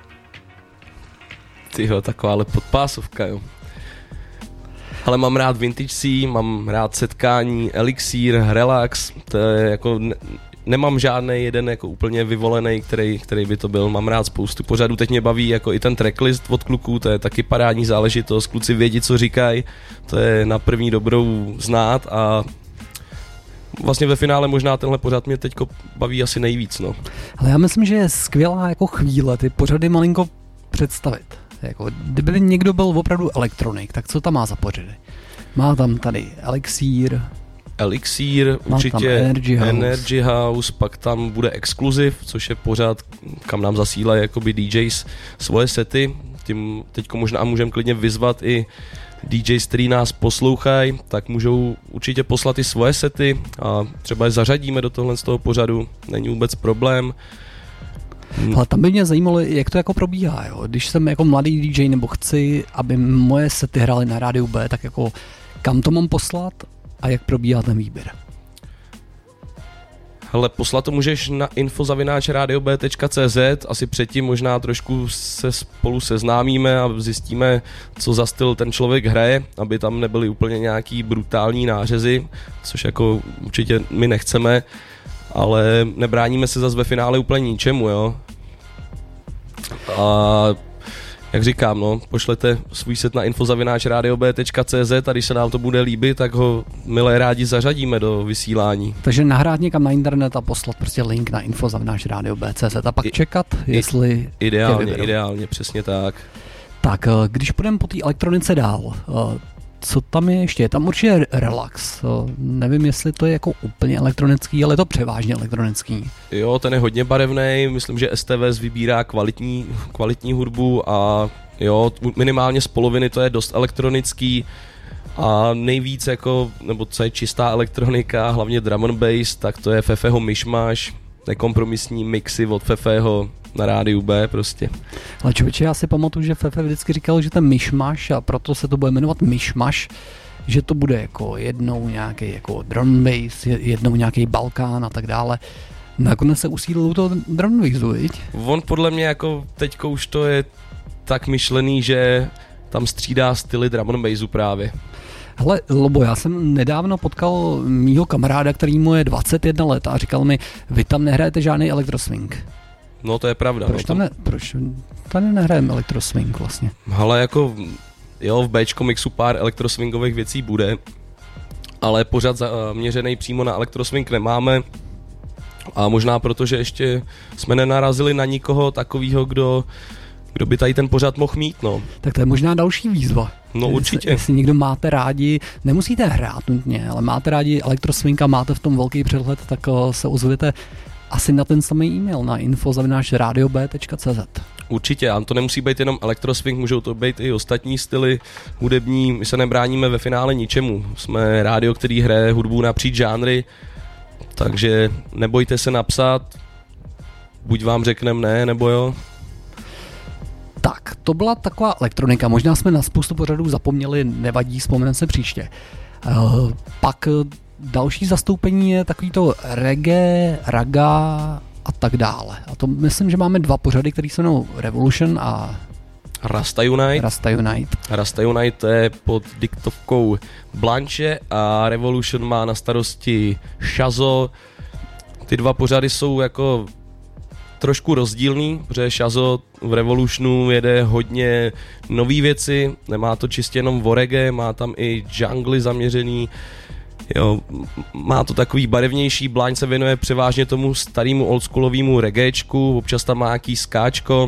Tyjo, takováhle podpásovka, jo. Ale mám rád Vintage C, mám rád setkání, Elixír, Relax, to je jako... Nemám žádný jeden jako úplně vyvolený, který by to byl. Mám rád spoustu pořadů. Teď mě baví jako i ten tracklist od kluků, to je taky parádní záležitost. Kluci vědí, co říkají, to je na první dobrou znát a vlastně ve finále možná tenhle pořad mě teďko baví asi nejvíc. No. Ale já myslím, že je skvělá jako chvíle ty pořady malinko představit. Jako, kdyby někdo byl opravdu elektronik, tak co tam má za pořady? Má tam tady Elixír, určitě Energy House, pak tam bude Exclusive, což je pořád, kam nám zasílají jakoby DJs svoje sety. Tím teďko možná můžeme klidně vyzvat i DJs, který nás poslouchají, tak můžou určitě poslat i svoje sety a třeba je zařadíme do tohle z toho pořadu, není vůbec problém. Ale tam by mě zajímalo, jak to jako probíhá, jo? Když jsem jako mladý DJ nebo chci, aby moje sety hrály na rádiu B, tak jako kam to mám poslat? A jak probíhá ten výběr? Hele, poslat to můžeš na info@radiob.cz, asi předtím možná trošku se spolu seznámíme a zjistíme, co za styl ten člověk hraje, aby tam nebyly úplně nějaký brutální nářezy, což jako určitě my nechceme, ale nebráníme se zase ve finále úplně ničemu, jo. A jak říkám, no, pošlete svůj set na info@radiob.cz a když se nám to bude líbit, tak ho milé rádi zařadíme do vysílání. Takže nahrát někam na internet a poslat prostě link na info@radiob.cz a pak čekat, jestli Ideálně, přesně tak. Tak, když půjdeme po té elektronice dál, co tam je ještě? Je tam určitě Relax. Nevím, jestli to je jako úplně elektronický, ale je to převážně elektronický. Jo, ten je hodně barevný, myslím, že STVS vybírá kvalitní hudbu a jo, minimálně z poloviny to je dost elektronický a nejvíc jako, nebo co je čistá elektronika, hlavně drum and bass, tak to je Fefeho Mishmash, nekompromisní mixy od Fefeho na rádiu B prostě. Ale člověče, já si pamatuju, že Fefe vždycky říkal, že ten Mishmash, a proto se to bude jmenovat Mishmash, že to bude jako jednou nějaký jako drum bass, jednou nějaký Balkán a tak dále. Nakonec se usídlil to drum bassu, viď? On podle mě jako teďko už to je tak myšlený, že tam střídá styly drum and bassu právě. Hele, Lobo, já jsem nedávno potkal mýho kamaráda, který mu je 21 let a říkal mi, vy tam nehrajete žádný elektroswing. No to je pravda. Proč tam nehrajeme elektroswing vlastně? Ale jako, jo, v Bčko mixu pár elektroswingových věcí bude, ale pořád zaměřený přímo na elektroswing nemáme a možná protože ještě jsme nenarazili na nikoho takového, kdo by tady ten pořád mohl mít, no. Tak to je možná další výzva. No určitě. Jestli někdo máte rádi, nemusíte hrát nutně, ale máte rádi elektroswing a máte v tom velký přehled, tak se ozvěte asi na ten samý e-mail na info@radiob.cz. Určitě, a to nemusí být jenom elektroswing, můžou to být i ostatní styly hudební, my se nebráníme ve finále ničemu. Jsme rádio, který hraje hudbu napříč žánry, takže nebojte se napsat, buď vám řekneme ne, nebo jo. Tak, to byla taková elektronika, možná jsme na spoustu pořadů zapomněli, nevadí, vzpomeneme se příště. Pak další zastoupení je takový to reggae, raga a tak dále. A to myslím, že máme dva pořady, které se jmenují Revolution a Rasta Unite. Rasta Unite je pod diktovkou Blanche a Revolution má na starosti Shazo. Ty dva pořady jsou jako trošku rozdílný, protože Shazo v Revolutionu jede hodně nový věci, nemá to čistě jenom o reggae, má tam i jungly zaměřený. Jo, má to takový barevnější, Blanche se věnuje převážně tomu starému oldschoolovému reggaečku, občas tam má nějaký skáčko,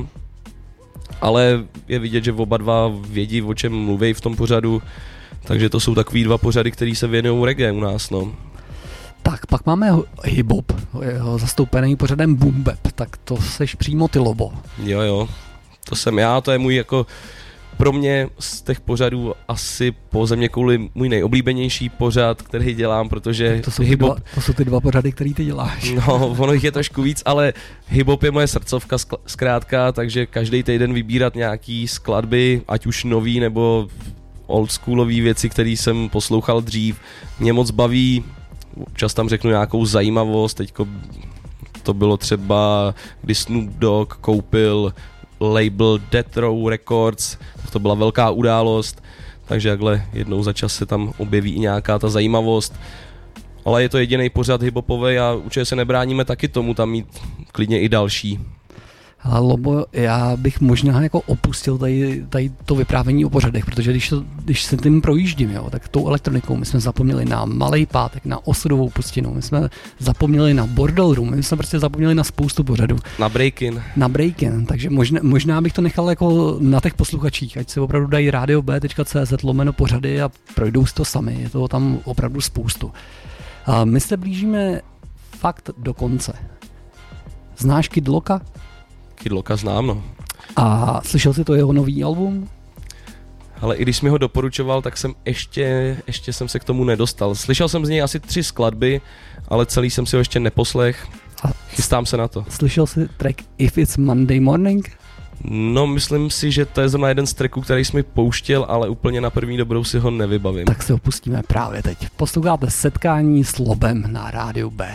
ale je vidět, že oba dva vědí, o čem mluví v tom pořadu, takže to jsou takový dva pořady, který se věnují reggae u nás, no. Tak, pak máme hip-hop, zastoupený pořadem Boom Bap, tak to seš přímo ty, Lobo. Jo, to jsem já, to je můj jako pro mě z těch pořadů asi po Zeměkouli můj nejoblíbenější pořad, který dělám, protože to jsou ty dva pořady, který ty děláš. No, ono jich je trošku víc, ale hip-hop je moje srdcovka zkrátka, takže každý týden vybírat nějaký skladby, ať už nový nebo oldschoolový věci, které jsem poslouchal dřív, mě moc baví, občas tam řeknu nějakou zajímavost, teďko to bylo třeba, kdy Snoop Dogg koupil label Death Row Records, to byla velká událost, takže takhle jednou za čas se tam objeví i nějaká ta zajímavost. Ale je to jediný pořad hiphopový a určitě se nebráníme taky tomu tam mít klidně i další. Lobo, já bych možná jako opustil tady to vyprávění o pořadech, protože když se tím projíždím, jo, tak tou elektronikou my jsme zapomněli na Malej pátek, na Osudovou pustinu, my jsme zapomněli na Bordel Room, my jsme prostě zapomněli na spoustu pořadů. Na break-in, takže možná bych to nechal jako na těch posluchačích, ať se opravdu dají radiob.cz/pořady a projdou si to sami, je toho tam opravdu spoustu. A my se blížíme fakt do konce. Znáš Kid Locka? Kid Locka znám, no. A slyšel jsi to jeho nový album? Ale i když jsi mi ho doporučoval, tak jsem ještě jsem se k tomu nedostal. Slyšel jsem z něj asi 3 skladby, ale celý jsem si ho ještě neposlech. Chystám se na to. Slyšel jsi track If It's Monday Morning? No, myslím si, že to je zrovna jeden z tracků, který jsi mi pouštěl, ale úplně na první dobrou si ho nevybavím. Tak si ho pustíme právě teď. Posloucháte Setkání s Lobem na Rádiu B.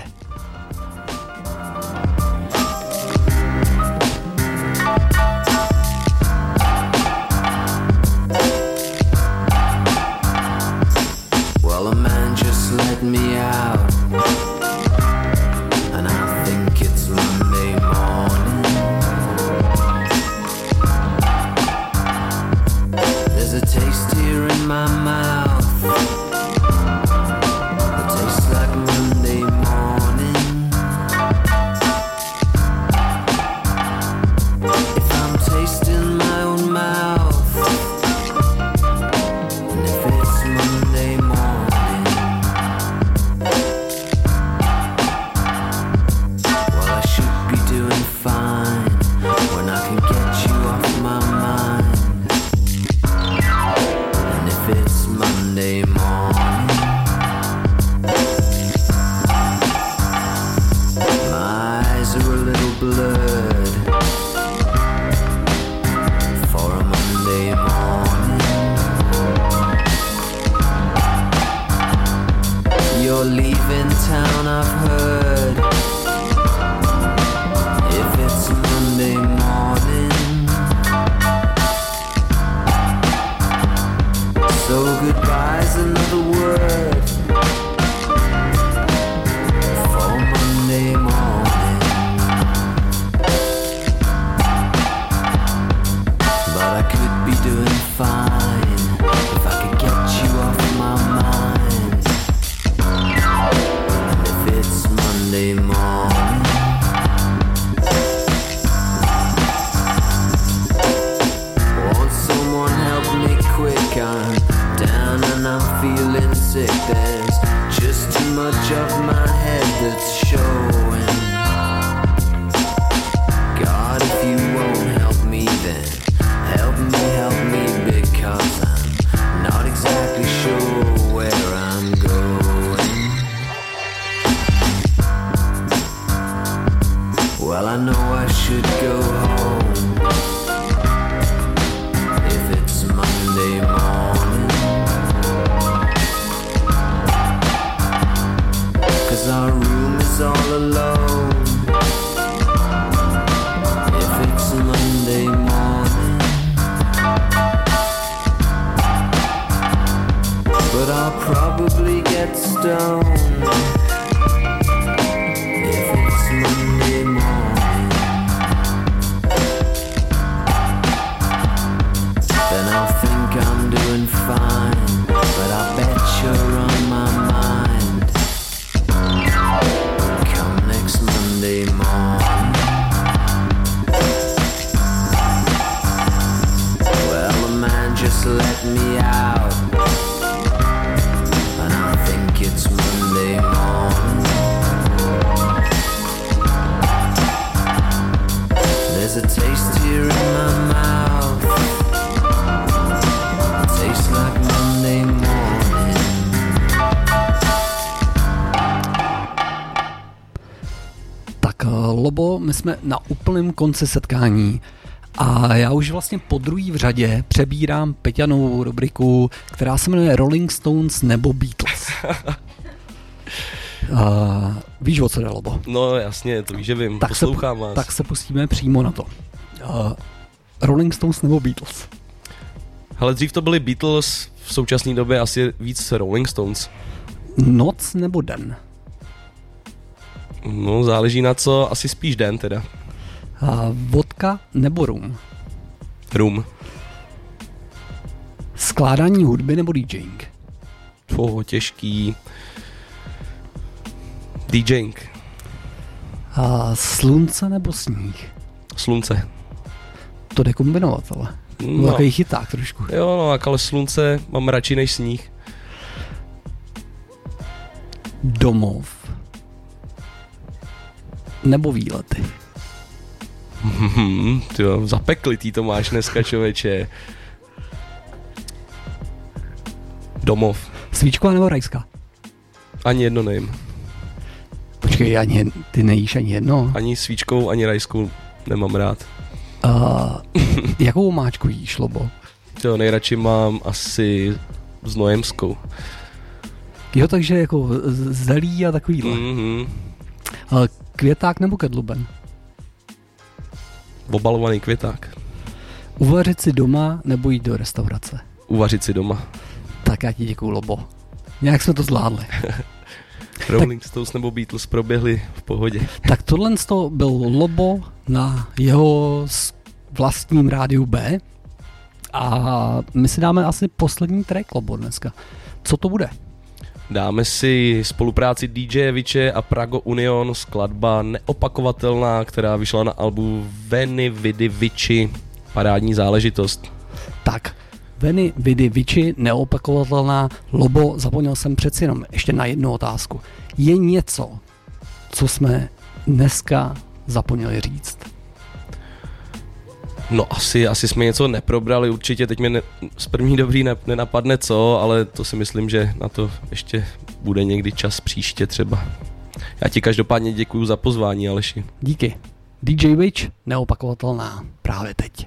Let me out, and I think it's Monday morning. There's a taste here in my mouth, it tastes like Monday morning. If I'm tasting my own mouth, and if it's Monday morning, fine when I can get you off my mind. And if it's Monday morning, my eyes are a little blurred for a Monday morning. You're leaving town, I've heard. If it's Monday morning, so goodbye's another word for Monday morning. But I could be doing fine if I could get you off my mind. And if it's Monday morning, quick, I'm down and I'm feeling sick. There's just too much of my head that's showing. God, if you won't help me, then help me, because I'm not exactly sure where I'm going. Well, I know I should go home Monday morning, 'cause our room is all alone. If it's Monday morning, but I'll probably get stoned. If it's Monday morning, then I'll think I'm doing fine, but I bet you're on my mind. Come next Monday morning. Well, the man just let me out, and I think it's Monday morning. Lobo, my jsme na úplném konci setkání a já už vlastně po druhý v řadě přebírám Peťanovou rubriku, která se jmenuje Rolling Stones nebo Beatles. Víš, o co jde, Lobo? No jasně, to víš, že vím, poslouchám vás. Tak se pustíme přímo na to. Rolling Stones nebo Beatles? Hele, dřív to byly Beatles, v současné době asi víc Rolling Stones. Noc nebo den? No, záleží na co, asi spíš den teda. Vodka nebo rum? Rum. Skládání hudby nebo DJing? Těžký. DJing. Slunce nebo sníh? Slunce. To jde kombinovat, ale. No. Takový chyták trošku. Jo, no, ale slunce mám radši než sníh. Domov. Nebo výlety? Tyjo, zapeklitý to máš dneska, člověče. Domov. Svíčková nebo rajská? Ani jedno nejím. Počkej, ty nejíš ani jedno? Ani svíčkovou, ani rajskou nemám rád. Jakou máčku jíš, Lobo? Jo, nejradši mám asi znojemskou. Jo, takže jako zelí a takovýhle. Květák nebo kedluben? Obalovaný květák. Uvařit si doma nebo jít do restaurace? Uvařit si doma. Tak já ti děkuju, Lobo. Nějak jsme to zvládli. Rolling Stones nebo Beatles proběhli v pohodě. Tak tohle byl Lobo na jeho vlastním rádiu B a my si dáme asi poslední track, Lobo, dneska. Co to bude? Dáme si spolupráci DJ Viče a Prago Union, skladba neopakovatelná, která vyšla na albu Veni Vidi Vici, parádní záležitost. Tak, Veni Vidi Vici, neopakovatelná. Lobo, zapomněl jsem přeci jenom ještě na jednu otázku. Je něco, co jsme dneska zapomněli říct? No asi jsme něco neprobrali, určitě teď mě z první dobrý nenapadne co, ale to si myslím, že na to ještě bude někdy čas příště třeba. Já ti každopádně děkuju za pozvání, Aleši. Díky. DJ Witch, neopakovatelná právě teď.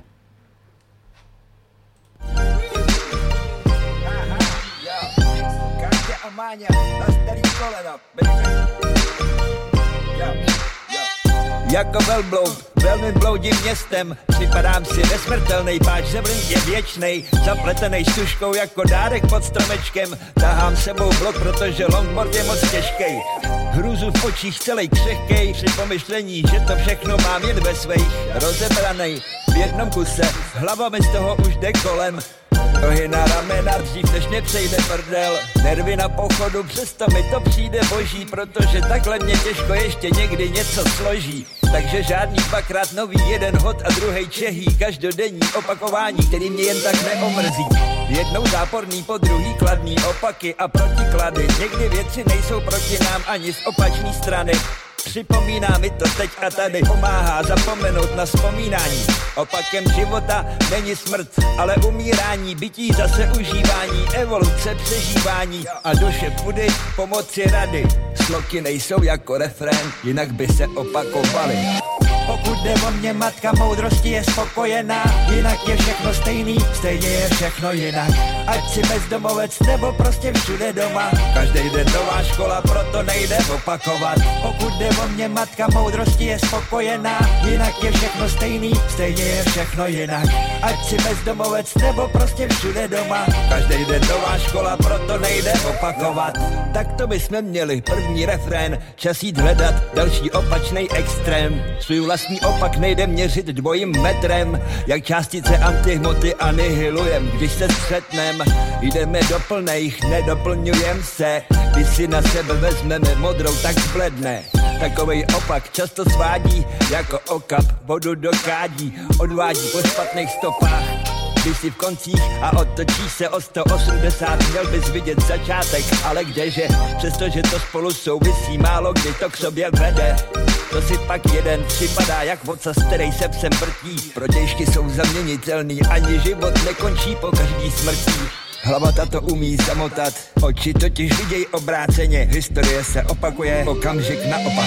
Jako velbloud, velmi bloudím městem, připadám si nesmrtelnej, páč zemlin je věčnej, zapletenej štuškou jako dárek pod stromečkem, tahám sebou blok, protože longboard je moc těžkej. Hruzu v očích celej křehkej, při pomyšlení, že to všechno mám jen ve svých, rozebranej, v jednom kuse, hlava mi z toho už jde kolem. Nohy na ramena, dřív než mě přejde prdel. Nervy na pochodu, přesto mi to přijde boží, protože takhle mě těžko ještě někdy něco složí. Takže žádný dvakrát nový, jeden hod a druhej čehý, každodenní opakování, který mě jen tak neomrzí. Jednou záporný, po druhý kladný opaky a protiklady. Někdy věci nejsou proti nám ani z opačné strany. Připomíná mi to teď a tady, pomáhá zapomenout na vzpomínání. Opakem života není smrt, ale umírání, bytí zase užívání, evoluce, přežívání a duše pudy, pomoci rady. Sloky nejsou jako refrén, jinak by se opakovaly. Pokud jde o mě, matka moudrosti je spokojená, jinak je všechno stejný, stejně je všechno jinak. Ať si bezdomovec nebo prostě všude doma, každý den nová škola, proto nejde opakovat. Pokud jde o mě, matka moudrosti je spokojená, jinak je všechno stejný, stejně je všechno jinak. Ať si bezdomovec nebo prostě všude doma, každý den nová škola, proto nejde opakovat. Tak to bychom měli první refrén, čas jít hledat další opačnej extrém. Svůj vlastní opak nejde měřit dvojím metrem, jak částice antihmoty anihilujem, když se střetnem. Jdeme do plnejch, nedoplňujem se, když si na sebe vezmeme modrou, tak zbledne. Takovej opak často svádí jako okap vodu do kádí, odvádí po špatných stopách. Když si v koncích a otočíš se o 180, měl bys vidět začátek, ale kdeže, přestože to spolu souvisí, málo kdy to k sobě vede. To si pak jeden připadá jak vocas, který se psem vrtí. Protějšky jsou zaměnitelný, ani život nekončí po každý smrtí. Hlava tato umí zamotat, oči totiž viděj obráceně, historie se opakuje, okamžik naopak.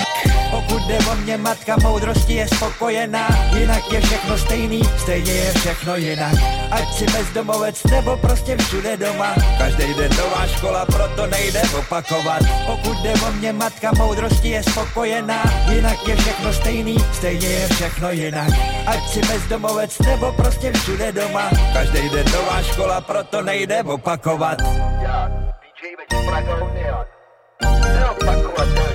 Pokud jde o mě, matka moudrosti je spokojená. Jinak je všechno stejný, stejně je všechno jinak. Ať si bezdomovec nebo prostě všude doma. Každý den nová škola, proto nejde opakovat. Pokud jde o mě, matka moudrosti je spokojená. Jinak je všechno stejný, stejně je všechno jinak. Ať si bezdomovec nebo prostě všude doma. Každý den nová škola, proto nejde opakovat. DJ Prago Neon. Neopakovat.